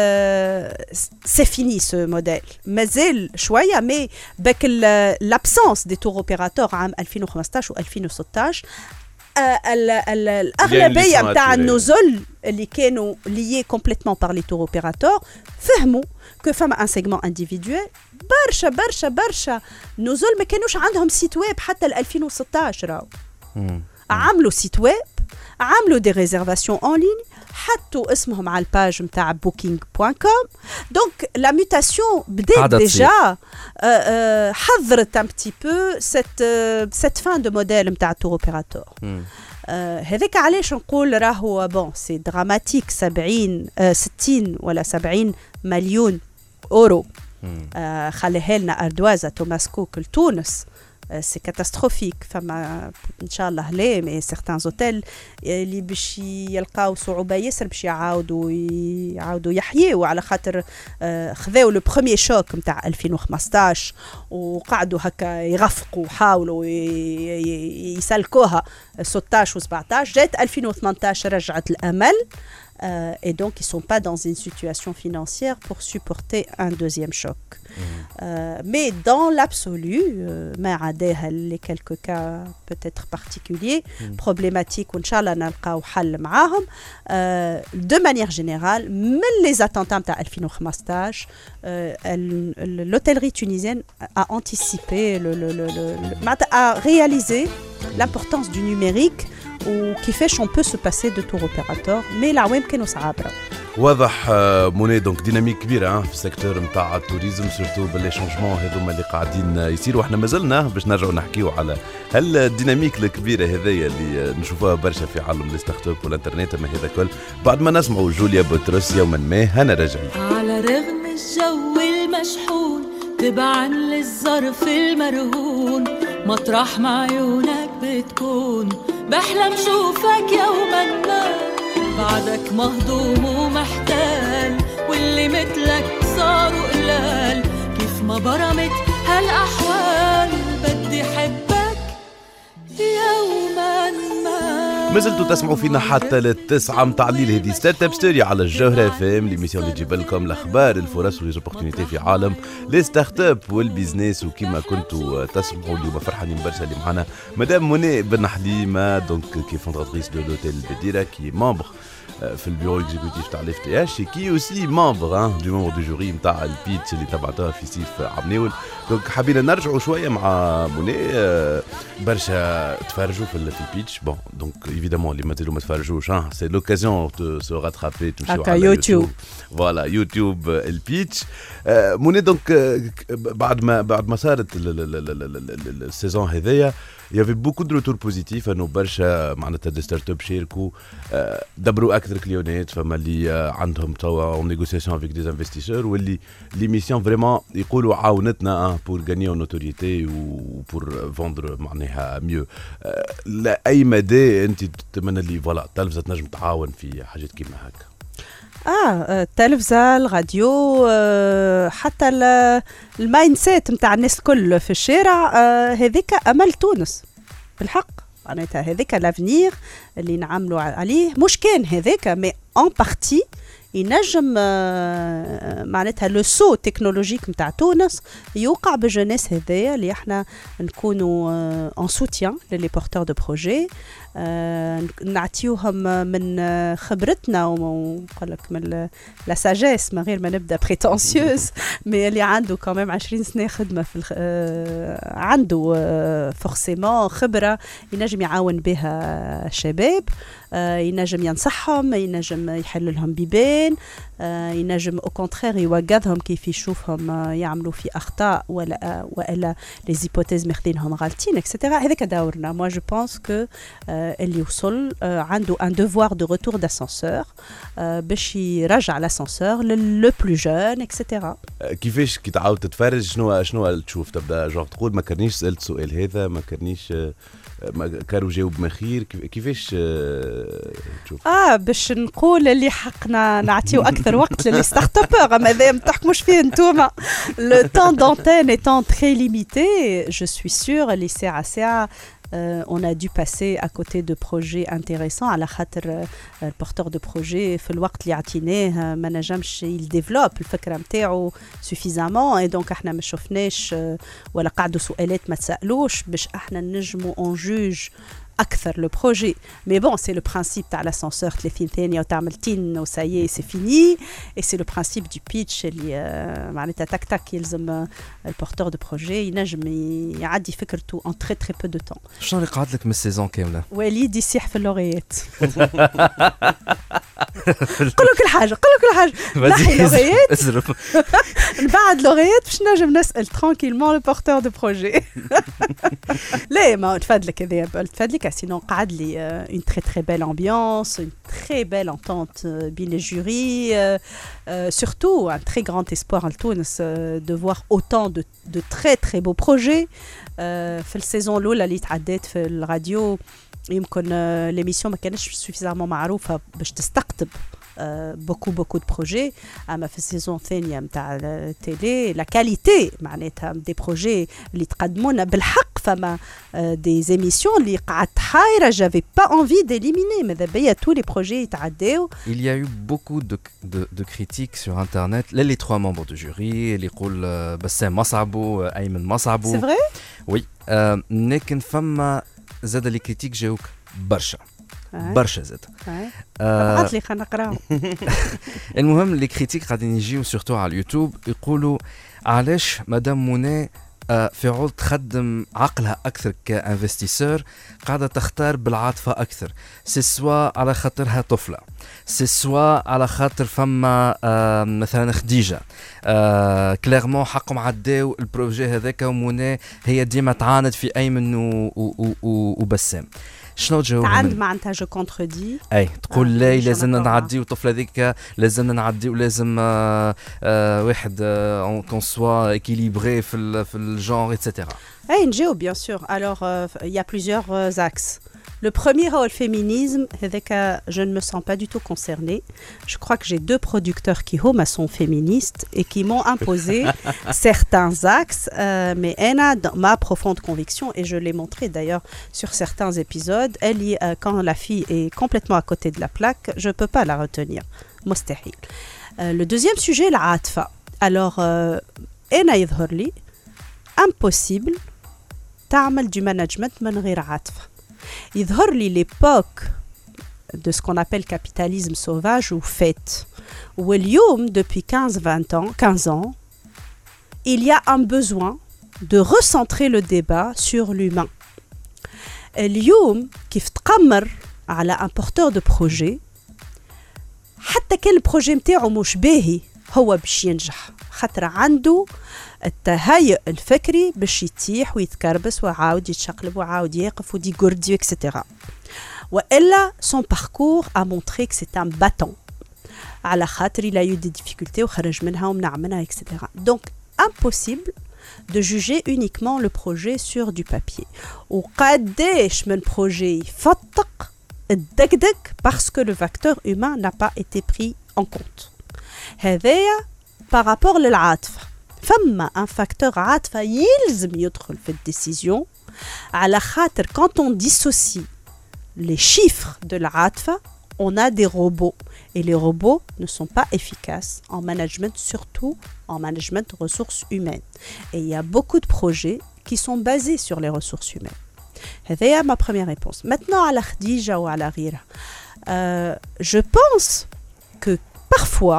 سي فيني سو موديل، مازال شويه مي باك لابسونس دي تور اوبيراتور عام ألفين وخمسطاش و ألفين وستطاش الاغلبيه نتاع النزل اللي كانوا ليي كومبليتمون بار لي تور اوبيراتور فهموا كو فما ان سيغمون انديفيدويل برشا برشا برشا نزل ما كانوش عندهم سيت ويب حتى ل ألفين وستطاش. راهو عملوا سيت ويب، عملوا دي ريزيرفاسيون اون لين، حطوا اسمهم على الباج نتاع بوكينغ بوان كوم. دونك لا ميوتاسيون بدات ديجا حضرت ان بتي بو سيت سيت فان دو موديل نتاع تور اوبيراتور. هذاك علاش نقول راهو بون سي دراماتيك سبعين ستين ولا سبعين مليون اورو خليها لنا اردوازه توماس كوك لتونس سي كاتاستروفيك. فما ان شاء الله لا مي سيغتان اوتيل اللي باش يلقاو صعوبه ياسر باش يعاودوا يعاودوا يحيوا على خاطر خذاو لو بروميير شوك نتاع ألفين وخمسطاش وقعدوا هكا يغفقوا وحاولوا يسلكوها ستطاش وسبعطاش. جات ألفين وثمنطاش رجعت الامل. Euh, et donc, ils ne sont pas dans une situation financière pour supporter un deuxième choc. Mmh. Euh, mais dans l'absolu, euh, les quelques cas peut-être particuliers, mmh. problématiques, Inch'Allah, نلقاو حل معاهم. Euh, de manière générale, même les attentats de ألفين وخمسطاش, euh, l'hôtellerie tunisienne a anticipé, le, le, le, le, a réalisé l'importance du numérique وكيفاش on peut se passer de tour opérateur. mais العوام كانوا صعابره. واضح موني دونك ديناميك كبيره في السيكتور نتاع التوريزم سورتو باللي شونجمون هذوما اللي قاعدين يصيروا. احنا مازلنا باش نرجعوا نحكيو على هل الديناميك الكبيره هذيا اللي نشوفوها برشا في عالم لي ستارت اب والانترنت. ما هذا كل بعد ما نسمعوا جوليا بطرس يوما ما. هنا راجعين على رغم الجو المشحون تبعا للظرف المرهون مطرح ما عيونك بتكون بحلم شوفك يوما ما بعدك مهضوم ومحتال واللي مثلك صاروا قلال كيف ما برمت هالأحوال بدي حبك يوما ما. ما زلتوا تسمعوا فينا حتى للتسعة متاع الليل. هذه ستارت اب ستوري على الجوهرة اف ام ليميسيون اللي تجيب لكم الاخبار الفرص وليزوبورتينيتي في عالم لي ستارت اب والبيزنس. وكما كنتوا تسمعوا اليوم فرحانين برشا اللي معنا مدام موني بن حليمه دونك كي فونداتريس دو لوتيل بديرة كي ممبر في البيرو اكزيكوتيف تاع الاف تي اش كي اوسي ممبر دو ممبر دو جوري نتاع البيتش اللي تبعتوها في سيف عبناول. دونك حبينا نرجعوا شويه مع موني برشا تفرجوا في البيتش. بون دونك ايفيدامون اللي مازالوا ما تفرجوش سي لوكازيون دو سو راترابي تمشيو على يوتيوب. فوالا يوتيوب البيتش موني. دونك بعد ما بعد ما صارت السيزون هذايا il y avait beaucoup de retours positifs انه برشا معناتها دي ستارت اب شاركوا دبروا اكثر كليونات. فما اللي عندهم توا اون نيغوسياسيون افيك دي انفستيسور واللي ليميسيون فريمون يقولوا عاونتنا بور غانيو نوتوريتي و بور فوندر معناها ميو. لاي مدى انت تتمنى لي فوالا التلفزه تنجم تعاون في حاجات كيما هكا؟ اه التلفزة الراديو آه حتى الماين سيت نتاع الناس الكل في الشارع آه هذيك امل تونس بالحق. معناتها هذيك لافنير اللي نعملوا عليه مش كان هذاك مي ان بارتي ينجم آه معناتها لو سو تكنولوجيك نتاع تونس يوقع بالجناس هذايا اللي احنا نكونوا ان سوتيان للي بورتور دو بروجي. آه نعطيوهم من خبرتنا ونقول لك من لا ساجيس من غير ما نبدا بريتونسيوز مي اللي عنده كمان عشرين سنه خدمه في آه عنده آه فورسيمون خبره ينجم يعاون بها الشباب. آه ينجم ينصحهم ينجم يحل لهم بيبان آه ينجم او كونترير يوقظهم كيف يشوفهم آه يعملوا في اخطاء ولا آه والا لي زيبوتيز ماخذينهم غالطين اكسترا. هذاك دورنا. موا جو بونس كو اللي وصل عنده ان دوفوار دو روتور داسانسور باش يرجع لاسانسور لو بلو جون اكسترا. كيفاش كي تعاود تتفرج شنو شنو تشوف تبدا جوغ تقول ما كرنيش سالت سؤال هذا ما كرنيش ما كانوا جاوب مخير كيفاش تشوف؟ اه باش نقول اللي حقنا نعطيو اكثر وقت للي ستارت ابور ماذا ما تحكموش فيه نتوما. لو طون دونتين ايتون تري ليميتي جو سوي سور اللي ساعه ساعه Euh, on a dû passer à côté de projets intéressants على خاطر le porteur de projet في الوقت اللي عطيناه ما نجمش il développe الفكرة متاعو suffisamment et donc احنا ما شفناش ولا قعدوا سؤالات ما تسألوش باش احنا نجموا on juge أكثر لو بروجي. مي بون سي لو برانسيب تاع لاسانسور ثلاثين ثانية وتعمل تين وسايي سي فيني اي سي لو برانسيب دو بيتش اللي معناتها تاك تاك يلزم البورتور دو بروجي ينجم يعدي فكرته ان تري تري بو دو طون. شنو اللي قعد لك من السيزون كامله؟ وليد يسيح في اللوغيات. قولوا كل حاجه قولوا كل حاجه نحي لوغيات نبعد لوغيات باش نجم نسال ترانكيلمون لو بورتور دو بروجي. لا ما تفادلك هذا تفادلك هكا sinon قعد لي euh, une très très belle ambiance, une très belle entente euh, بين الجوري, euh, euh, surtout un très grand espoir à Tunis euh, de voir autant de, de très très beaux projets. euh, في السيزون الأولى اللي تعديت في الراديو يمكن euh, l'émission ما كانتش suffisamment معروفة باش تستقطب beaucoup beaucoup de projets. اما في السيزون الثانيه نتاع التيلي لا كاليتي معناتها دي بروجي اللي تقدمونا بالحق فما دي زيميسيون اللي قعدت حايره جافي با انفي ديليميني ماذا بيا تو لي بروجي يتعداو. Il y a eu beaucoup de de de critiques sur internet les les trois membres du jury اللي يقول بسام مصعبو ايمن مصعبو. سي فري وي لكن فما زاد لي كريتيك جاوك برشا برشا زاد. ابعث لي خلينا نقراو. المهم لي كريتيك قاعدين يجيو سورتو على اليوتيوب يقولوا علاش مدام منى في عود تخدم عقلها اكثر كانفستيسور قاعده تختار بالعاطفه اكثر. سي سوا على خاطرها طفله, سي سوا على خاطر فما مثلا خديجه كليرمون حقهم عداو البروجي هذاك ومنى هي ديما تعاند في ايمن وبسام. شنو تجاوب؟ تعاند معناتها جو كونتردي. اي تقول آه لا لازمنا نعديو الطفله هذيك لازمنا نعديو لازم آه آه واحد كون سوا اكيليبري في في الجونر ايتترا. اي نجاوب بيان سور. الوغ il y a plusieurs axes. Le premier, le féminisme, je ne me sens pas du tout concernée. Je crois que j'ai deux producteurs qui sont féministes et qui m'ont imposé certains axes. Euh, mais elle a ma profonde conviction, et je l'ai montré d'ailleurs sur certains épisodes, elle y, euh, quand la fille est complètement à côté de la plaque, je ne peux pas la retenir. Mostahil. Euh, le deuxième sujet, la atfa. Alors, elle a يظهر لي impossible تعمل du management من غير عاطفة. يظهر لي l'époque de ce qu'on appelle capitalisme sauvage ou fête. واليوم depuis quinze vingt ans, quinze ans, il y a un besoin de recentrer le débat sur l'humain. اليوم كيف تقمر على un porteur de projet حتى كان البروجي نتاعو مش باهي هو باش ينجح خاطر عنده التهيئ الفكري باش يتيح ويتكربس وعاود يتشقلب وعاود يقف ودي غوردي اكسترا. والا son parcours a montré que c'est un battant على خاطر il a eu des difficultés وخرج منها ومنع منها اكسترا. Donc impossible de juger uniquement le projet sur du papier. وقداش من projet يفتق الدقدق parce que le facteur humain n'a pas été pris en compte. هذايا par rapport للعاطفة. فما un facteur عاطفة يلزم يدخل في الديسيزيون على خاطر quand on dissocie les chiffres de العاطفة on a des robots et les robots ne sont pas efficaces en management, surtout en management de ressources humaines. Et il y a beaucoup de projets qui sont basés sur les ressources humaines. C'est ma première réponse. Maintenant, à la Khadija ou à la Rira, euh, je pense que parfois,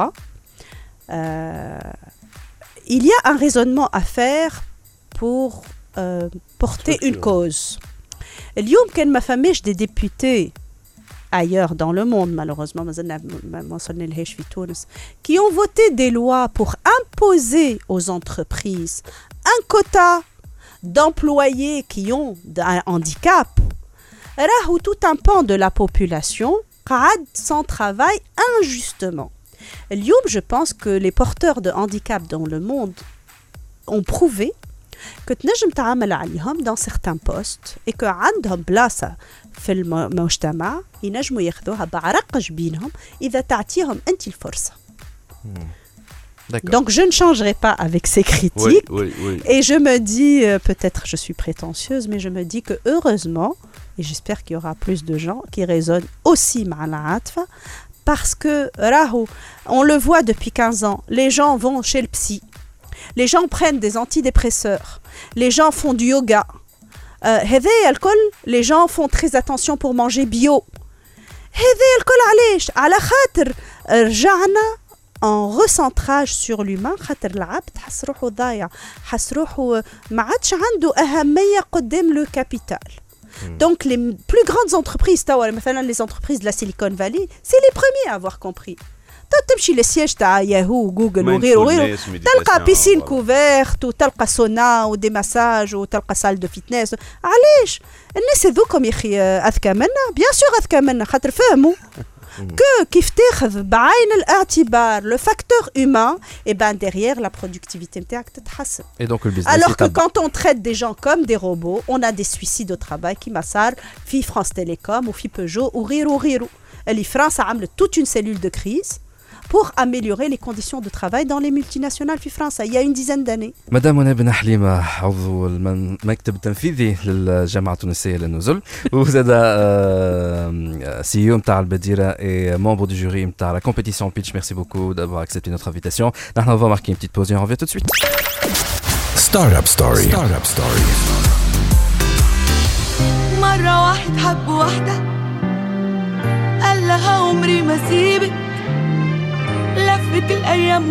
euh, il y a un raisonnement à faire pour euh, porter Structure. une cause. اليوم كان ما فماش des députés ailleurs dans le monde, malheureusement, qui ont voté des lois pour imposer aux entreprises un quota d'employés qui ont un handicap. Rahou tout un pan de la population قعد sans travail injustement. اليوم, je pense que les porteurs de handicap dans le monde ont prouvé que تنجم تعامل عليهم dans certains postes et que عندهم بلاصة في المجتمع ينجموا ياخذوها بعرق جبينهم إذا تعطيهم أنت الفرصة. Donc je ne changerai pas avec ces critiques. Oui, oui, oui. Et je me dis, euh, peut-être je suis prétentieuse, mais je me dis que heureusement, et j'espère qu'il y aura plus de gens qui raisonnent aussi مع العاطفة, parce que راهو, on le voit depuis quinze ans, les gens vont chez le psy. Les gens prennent des antidépresseurs. Les gens font du yoga. هذا الكل, les gens font très attention pour manger bio. هذا الكل علاش؟ على خاطر رجعنا en recentrage sur l'humain. خاطر العبد حس روحه ضايع, حس روحه ما عادش عنده أهمية قدام le capital. Donc les plus grandes entreprises, مثلا les entreprises de la Silicon Valley, c'est les premiers à avoir compris. تمشي للسياج تاع ياهو وجوجل ما وغيره وغيره ينفوناش méditation، تلقى بيسين voilà. كوفيرت وتلقى سونا ودي مساج وتلقى سال دو فيتنس. علاش الناس هذوكم يا اخي اذكى منا؟ بيان سور اذكى منا خاطر فهموا que كيف تاخذ بعين الاعتبار le facteur humain et ben derrière la productivité نتاعك تتحسن. Et donc le business Alors que يتبع. quand on traite des gens comme des robots, on a des suicides au travail كيما صار في France Télécom وفي Peugeot وغيره وغيره. اللي فرنسا عملت toute une cellule de crise pour améliorer les conditions de travail dans les multinationales في فرنسا il y a une dizaine d'années. مدام منى بن حليمة عضو المكتب التنفيذي للجامعة التونسية للنزل وزاد سي او نتاع البديرة et membre du jury نتاع la compétition pitch. Merci beaucoup d'avoir accepté notre invitation. نحن on va marquer une petite pause et on revient tout de suite. Startup Story. Startup Story. مرة واحد حب واحدة قال لها عمري ما سيبك، لفت الأيام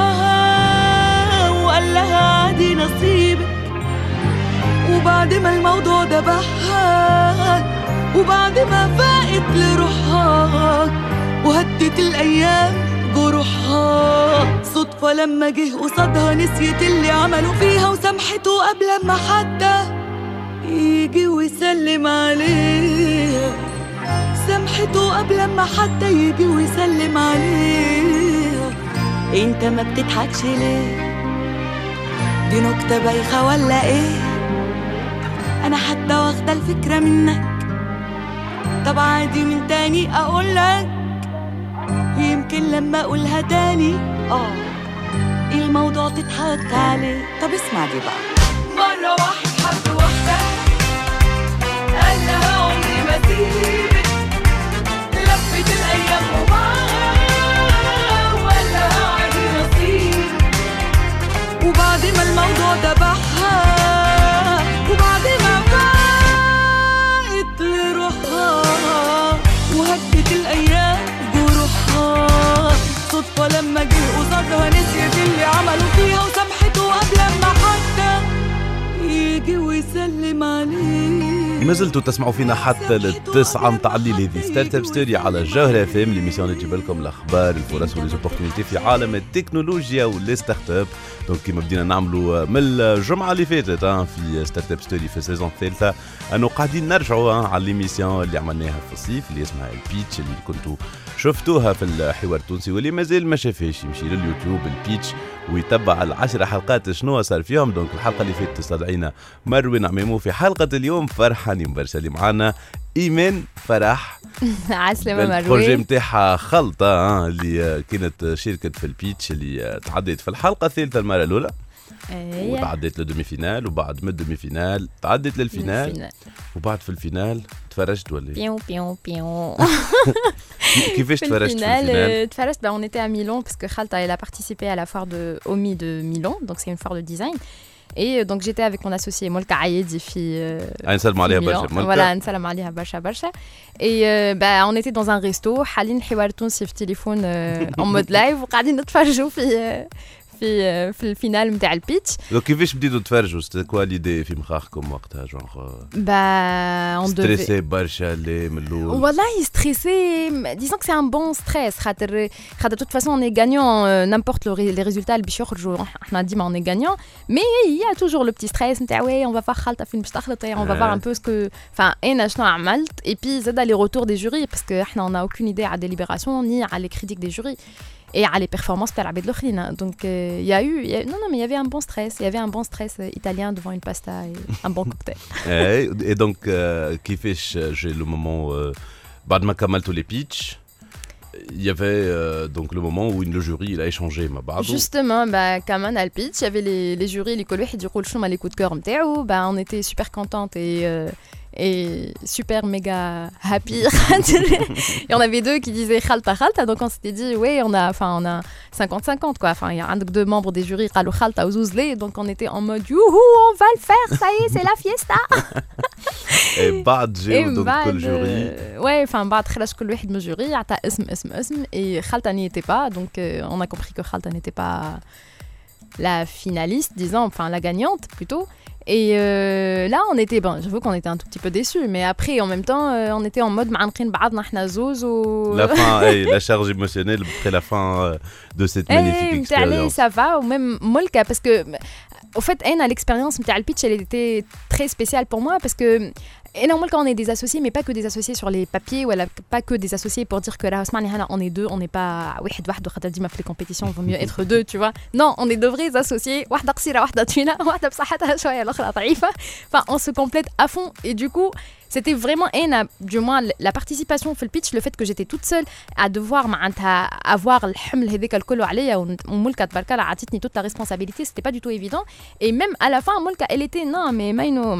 وباعها وقال لها عادي نصيبك. وبعد ما الموضوع ده بحها وبعد ما فاقت لروحها وهدت الأيام جروحها، صدفة لما جه قصادها نسيت اللي عملوا فيها وسامحته قبل ما حتى يجي ويسلم عليها. سامحته قبل ما حتى يجي ويسلم عليها. انت ما بتضحكش ليه؟ دي نكتة بايخة ولا ايه؟ انا حتى واخدة الفكرة منك، طب عادي من تاني اقولك، يمكن لما اقولها تاني اه الموضوع تضحك عليه. طب اسمع دي بقى. مرة واحد حب واحدة قال لها عمري ما سيبك، لفت الأيام وباعها وقال لها عادي نصيب. وبعد ما الموضوع ده بحها وبعد ما فاقت لروحها وهدت الأيام جروحها، صدفة لما جه قصادها نسيت اللي عملوا فيها وسامحته قبل ما حتى يجي ويسلم عليه. ما زلتوا تسمعوا فينا حتى للتسعة متاع الليل. هذه ستارت اب ستوري على الجوهرة اف ام، ليميسيون اللي تجيب لكم الاخبار الفرص وليزوبورتينيتي في عالم التكنولوجيا ولي ستارت اب. دونك كيما بدينا نعملوا من الجمعة اللي فاتت في ستارت اب ستوري في السيزون الثالثة، انه قاعدين نرجعوا على ليميسيون اللي عملناها في الصيف اللي اسمها البيتش، اللي كنتوا شفتوها في الحوار التونسي، واللي مازال ما شافهاش يمشي لليوتيوب البيتش ويتبع العشر حلقات شنو صار فيهم. دونك الحلقه اللي فاتت استدعينا مروان عمامو، في حلقه اليوم فرحانين برشا اللي معانا ايمان فرح عسلامة مروان. البروجي نتاعها خلطه اللي كانت شاركت في البيتش اللي تعديت في الحلقه الثالثه المره الاولى أيه. وتعديت للدومي فينال، وبعد من الدومي فينال تعديت للفينال الفينال. وبعد في الفينال تفرجت ولا بيون بيون بيون كيفاش تفرجت في الفينال؟ تفرجت bah, on était à Milan parce que Khalta elle a participé à la foire de O M I de Milan, donc c'est une foire de design. Et donc j'étais avec mon associé Molka Ayedi fi نسلم عليها برشا voilà نسلم عليها برشا برشا. Et euh, bah on était dans un resto حالين حوار تونسي في تليفون en mode live وقاعدين نتفرجوا في في في الفينال نتاع البيتش. كيفاش بديتوا تفرجوا؟ سيتي كوا ليدي في مخاخكم وقتها؟ جونغ bah on devait stressé برشا اللي من الاول. والله stressé, disons que c'est un bon stress خاطر خاطر de toute façon on est gagnant n'importe les résultats اللي باش يخرجوا احنا ديما on est gagnant, mais il y a toujours le petit stress نتاع ouais on va voir خالته فين باش تخلط, on va voir un peu ce que enfin انا شنو عملت. et puis زاد les retours des jurys parce que احنا on a aucune idée à délibération ni à les critiques des jurys et à les performances تاع العباد الاخرين. donc il euh, y a eu y a, non non mais il y avait un bon stress, il y avait un bon stress euh, italien devant une pasta et un bon cocktail. et donc euh, كيفاش j'ai le moment euh, بعد ما كملتوا les pitch il y avait euh, donc le moment où le jury il a échangé مع بعضه. Justement bah كمان على البيتش il y avait les les jurys اللي كل واحد يقول شنو هما les coups de cœur نتاعو. bah on était super contente et euh, et super méga happy. et on avait deux qui disaient Khalta Khalta, donc on s'était dit ouais on a enfin on a cinquante cinquante quoi, enfin il y a un deux membres des jurys قالوا Khalta وزوزلي, donc on était en mode youhou on va le faire, ça y est c'est la fiesta. et بعد جاو donc كل jury ouais enfin بعد خرج كل واحد من الجوري عطى اسم اسم اسم et Khalta n'y était pas, donc euh, on a compris que Khalta n'était pas la finaliste disons, enfin la gagnante plutôt. Et euh, là, on était, bon, j'avoue qu'on était un tout petit peu déçus, mais après, en même temps, euh, on était en mode معانقين بعضنا احنا زوز و La fin, hey, la charge émotionnelle après la fin euh, de cette magnifique Eh, expérience. ça va, ou même Molka, parce que, au fait, Anna, l'expérience de pitch, elle était très spéciale pour moi, parce que, et normalement, quand on est des associés, mais pas que des associés sur les papiers, ou alors pas que des associés pour dire que là, on est deux, on n'est pas. Oui, les compétitions, il vaut mieux être deux, tu vois. Non, on est deux vrais associés. Enfin, on se complète à fond, et du coup, c'était vraiment, du moins, la participation au pitch, le fait que j'étais toute seule à devoir avoir toute la responsabilité, c'était pas du tout évident. Et même à la fin, Molka, elle était, non, mais Maïno,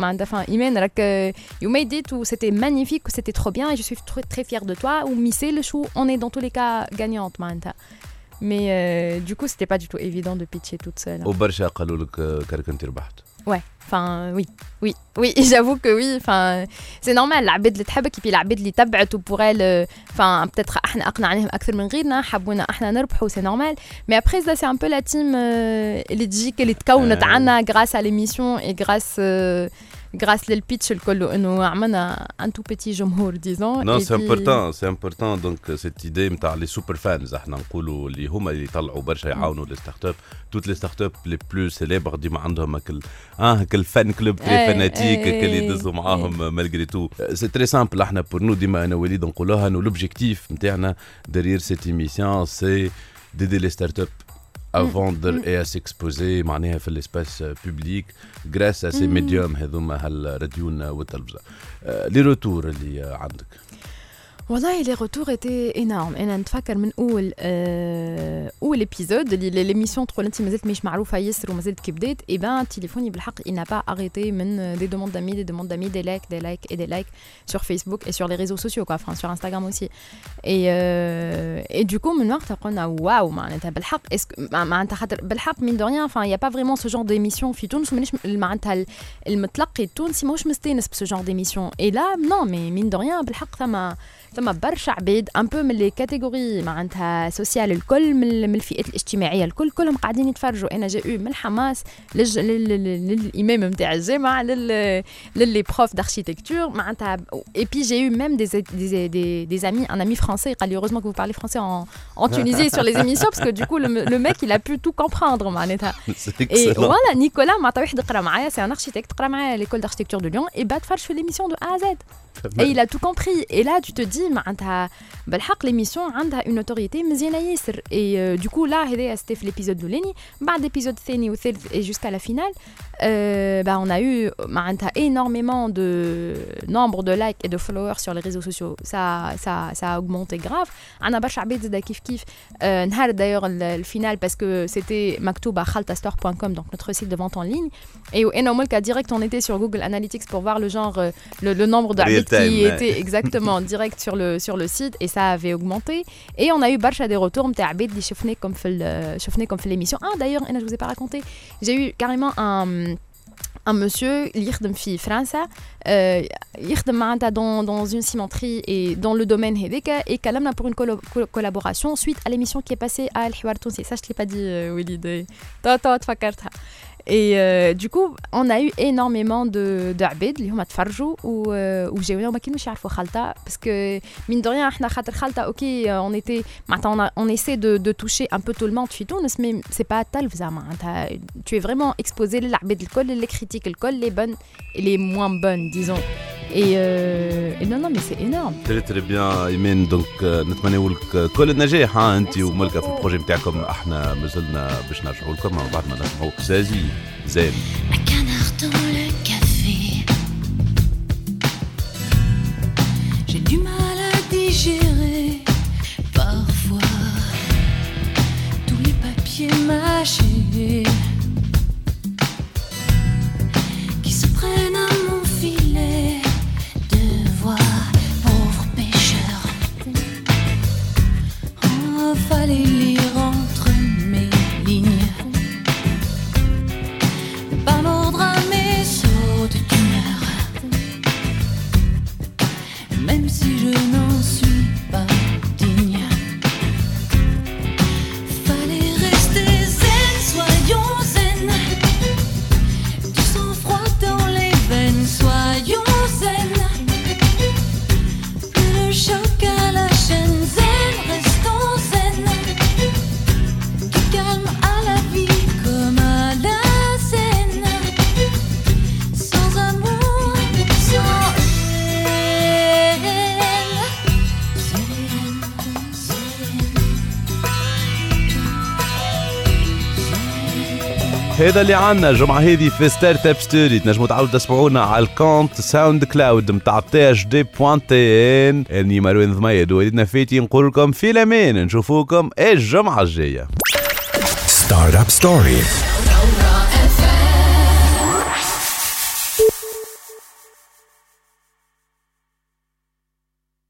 you made it, ou c'était magnifique, ou c'était trop bien, et je suis très, très fière de toi, ou Missé, le chou, on est dans tous les cas gagnante, mais euh, du coup, c'était pas du tout évident de pitcher toute seule. وبرشا قالوا لك كرك انت ربحت. Ouais, enfin oui, oui, oui, j'avoue que oui, enfin c'est normal, العباد اللي تحبك puis العباد اللي تبعت pour elle, enfin peut-être احنا اقنعناهم اكثر من غيرنا, حبونا احنا نربحوا, c'est normal. Mais après ça c'est un peu la team اللي تجيك اللي تكونت عنا grâce à l'émission et grâce euh, grâce le pitch الكل انه عملنا un tout petit جمهور disons. Non, c'est important, c'est important donc cette idée نتاع les super fans احنا نقولوا اللي هما اللي يطلعوا برشا يعاونوا les startups, toutes les startups les plus célèbres ديما عندهم هكل اه هكل فان كلوب تري فاناتيك اللي يدزوا معاهم malgré tout. C'est très simple احنا pour nous ديما انا وليد نقولوها انه l'objectif نتاعنا derrière cette émission c'est d'aider les startups à vendre et à s'exposer معناها في l'espace public grâce à ces médiums هذوما هالراديون والتلفزة. لي روتور اللي عندك؟ والله les retours étaient énormes. انا نتفكر من اول آه اول ابيزود اللي ليميسيون تقول انت مازلت مش معروفه ياسر ومازلت كي بديت, اي بان تليفوني بالحق il n'a pas arrêté من des demandes d'amis, des demandes d'amis, des likes, des likes et des likes sur Facebook et sur les réseaux sociaux quoi, enfin sur Instagram aussi. Et euh, et du coup من وقتها قلنا واو معناتها بالحق اسك معناتها خاطر بالحق من دو ريان, enfin il y a pas vraiment ce genre d'émission في تونس, مانيش معناتها المتلقي التونسي ماهوش مستانس بسو genre d'émission. Et là non mais من دو ريان بالحق ثم ثم برشا عباد ان بو من لي كاتيجوري معناتها سوسيال الكل, من من الفئات الاجتماعيه الكل, كلهم قاعدين يتفرجوا. انا جاء من الحماس للج... لل... للامام نتاع الجامعه لل للي بروف d'architecture معناتها. et puis j'ai eu même des des des, des amis, un ami français قال لي heureusement que vous parlez français en en Tunisie sur les émissions parce que du coup le, le mec il a pu tout comprendre معناتها. et voilà Nicolas معناتها واحد قرا معايا, c'est un architecte قرا معايا l'école d'architecture de Lyon et bah تفرج في l'émission de A à Z. Et il a tout compris. Et là, tu te dis, معناتها بالحق l'émission عندها une autorité مزيانة ياسر. Et euh, du coup, là, هذايا c'était في l'épisode الأولاني. بعد l'épisode الثاني والثالث et jusqu'à la finale, euh, bah, on a eu معناتها énormément de nombre de likes et de followers sur les réseaux sociaux. Ça, ça, ça a augmenté grave. عندنا برشا عباد زادا كيف كيف. Euh, نهار d'ailleurs le final parce que c'était مكتوب à khalta store point com, donc notre site de vente en ligne. Et au Molka direct, on était sur Google Analytics pour voir le genre, le, le nombre d'habits qui était exactement direct sur le sur le site, et ça avait augmenté. Et on a eu برشا des retours نتاع عباد اللي شفناك comme في شفناك comme في l'émission. Ah d'ailleurs, انا je vous ai pas raconté, j'ai eu carrément un un monsieur اللي يخدم في فرنسا, euh, يخدم معناتها dans dans une cimenterie et dans le domaine هذاك, et كلمنا pour une collo- collaboration suite à l'émission qui est passée à الحوار التونسي. Ça je te l'ai pas dit وليد, toi toi تفكرتها. Et euh, du coup, on a eu énormément de d'عباد اللي هما تفرجوا وجاونا وما كانوش يعرفوا خالته, parce que mine de rien احنا خاطر خالته اوكي on était معناتها on essaie de de toucher un peu tout le monde في تونس, mais c'est pas تلفزة معناتها tu es vraiment exposé للعباد الكل, les critiques الكل, les bonnes et les moins bonnes disons. Et, euh, et non non mais c'est énorme. Très très bien Imen, donc نتمنى لك كل النجاح انت وملكه في البروجي نتاعكم. احنا مازلنا باش نرجعوا لكم بعد ما نسمعوا زازي زين. Un canard dans le café. J'ai du mal à digérer parfois tous les papiers mâchés qui se prennent à mon filet. Devoir, pauvre pêcheur. Oh, fallait lire entre mes lignes. Par l'ordre à mes sauts de d'humeur. Même si je n'en suis pas digne. Fallait rester zen, soyons zen. Du sang-froid هذا اللي عنا الجمعة هذه في ستارت اب ستوري. تنجموا تعاودوا تسمعونا على الكونت ساوند كلاود متاع تي اش دي بوان تي ان. اني مروان ضميد وليدنا فيتي نقول لكم في الامان، نشوفوكم الجمعة الجاية. ستارت اب ستوري.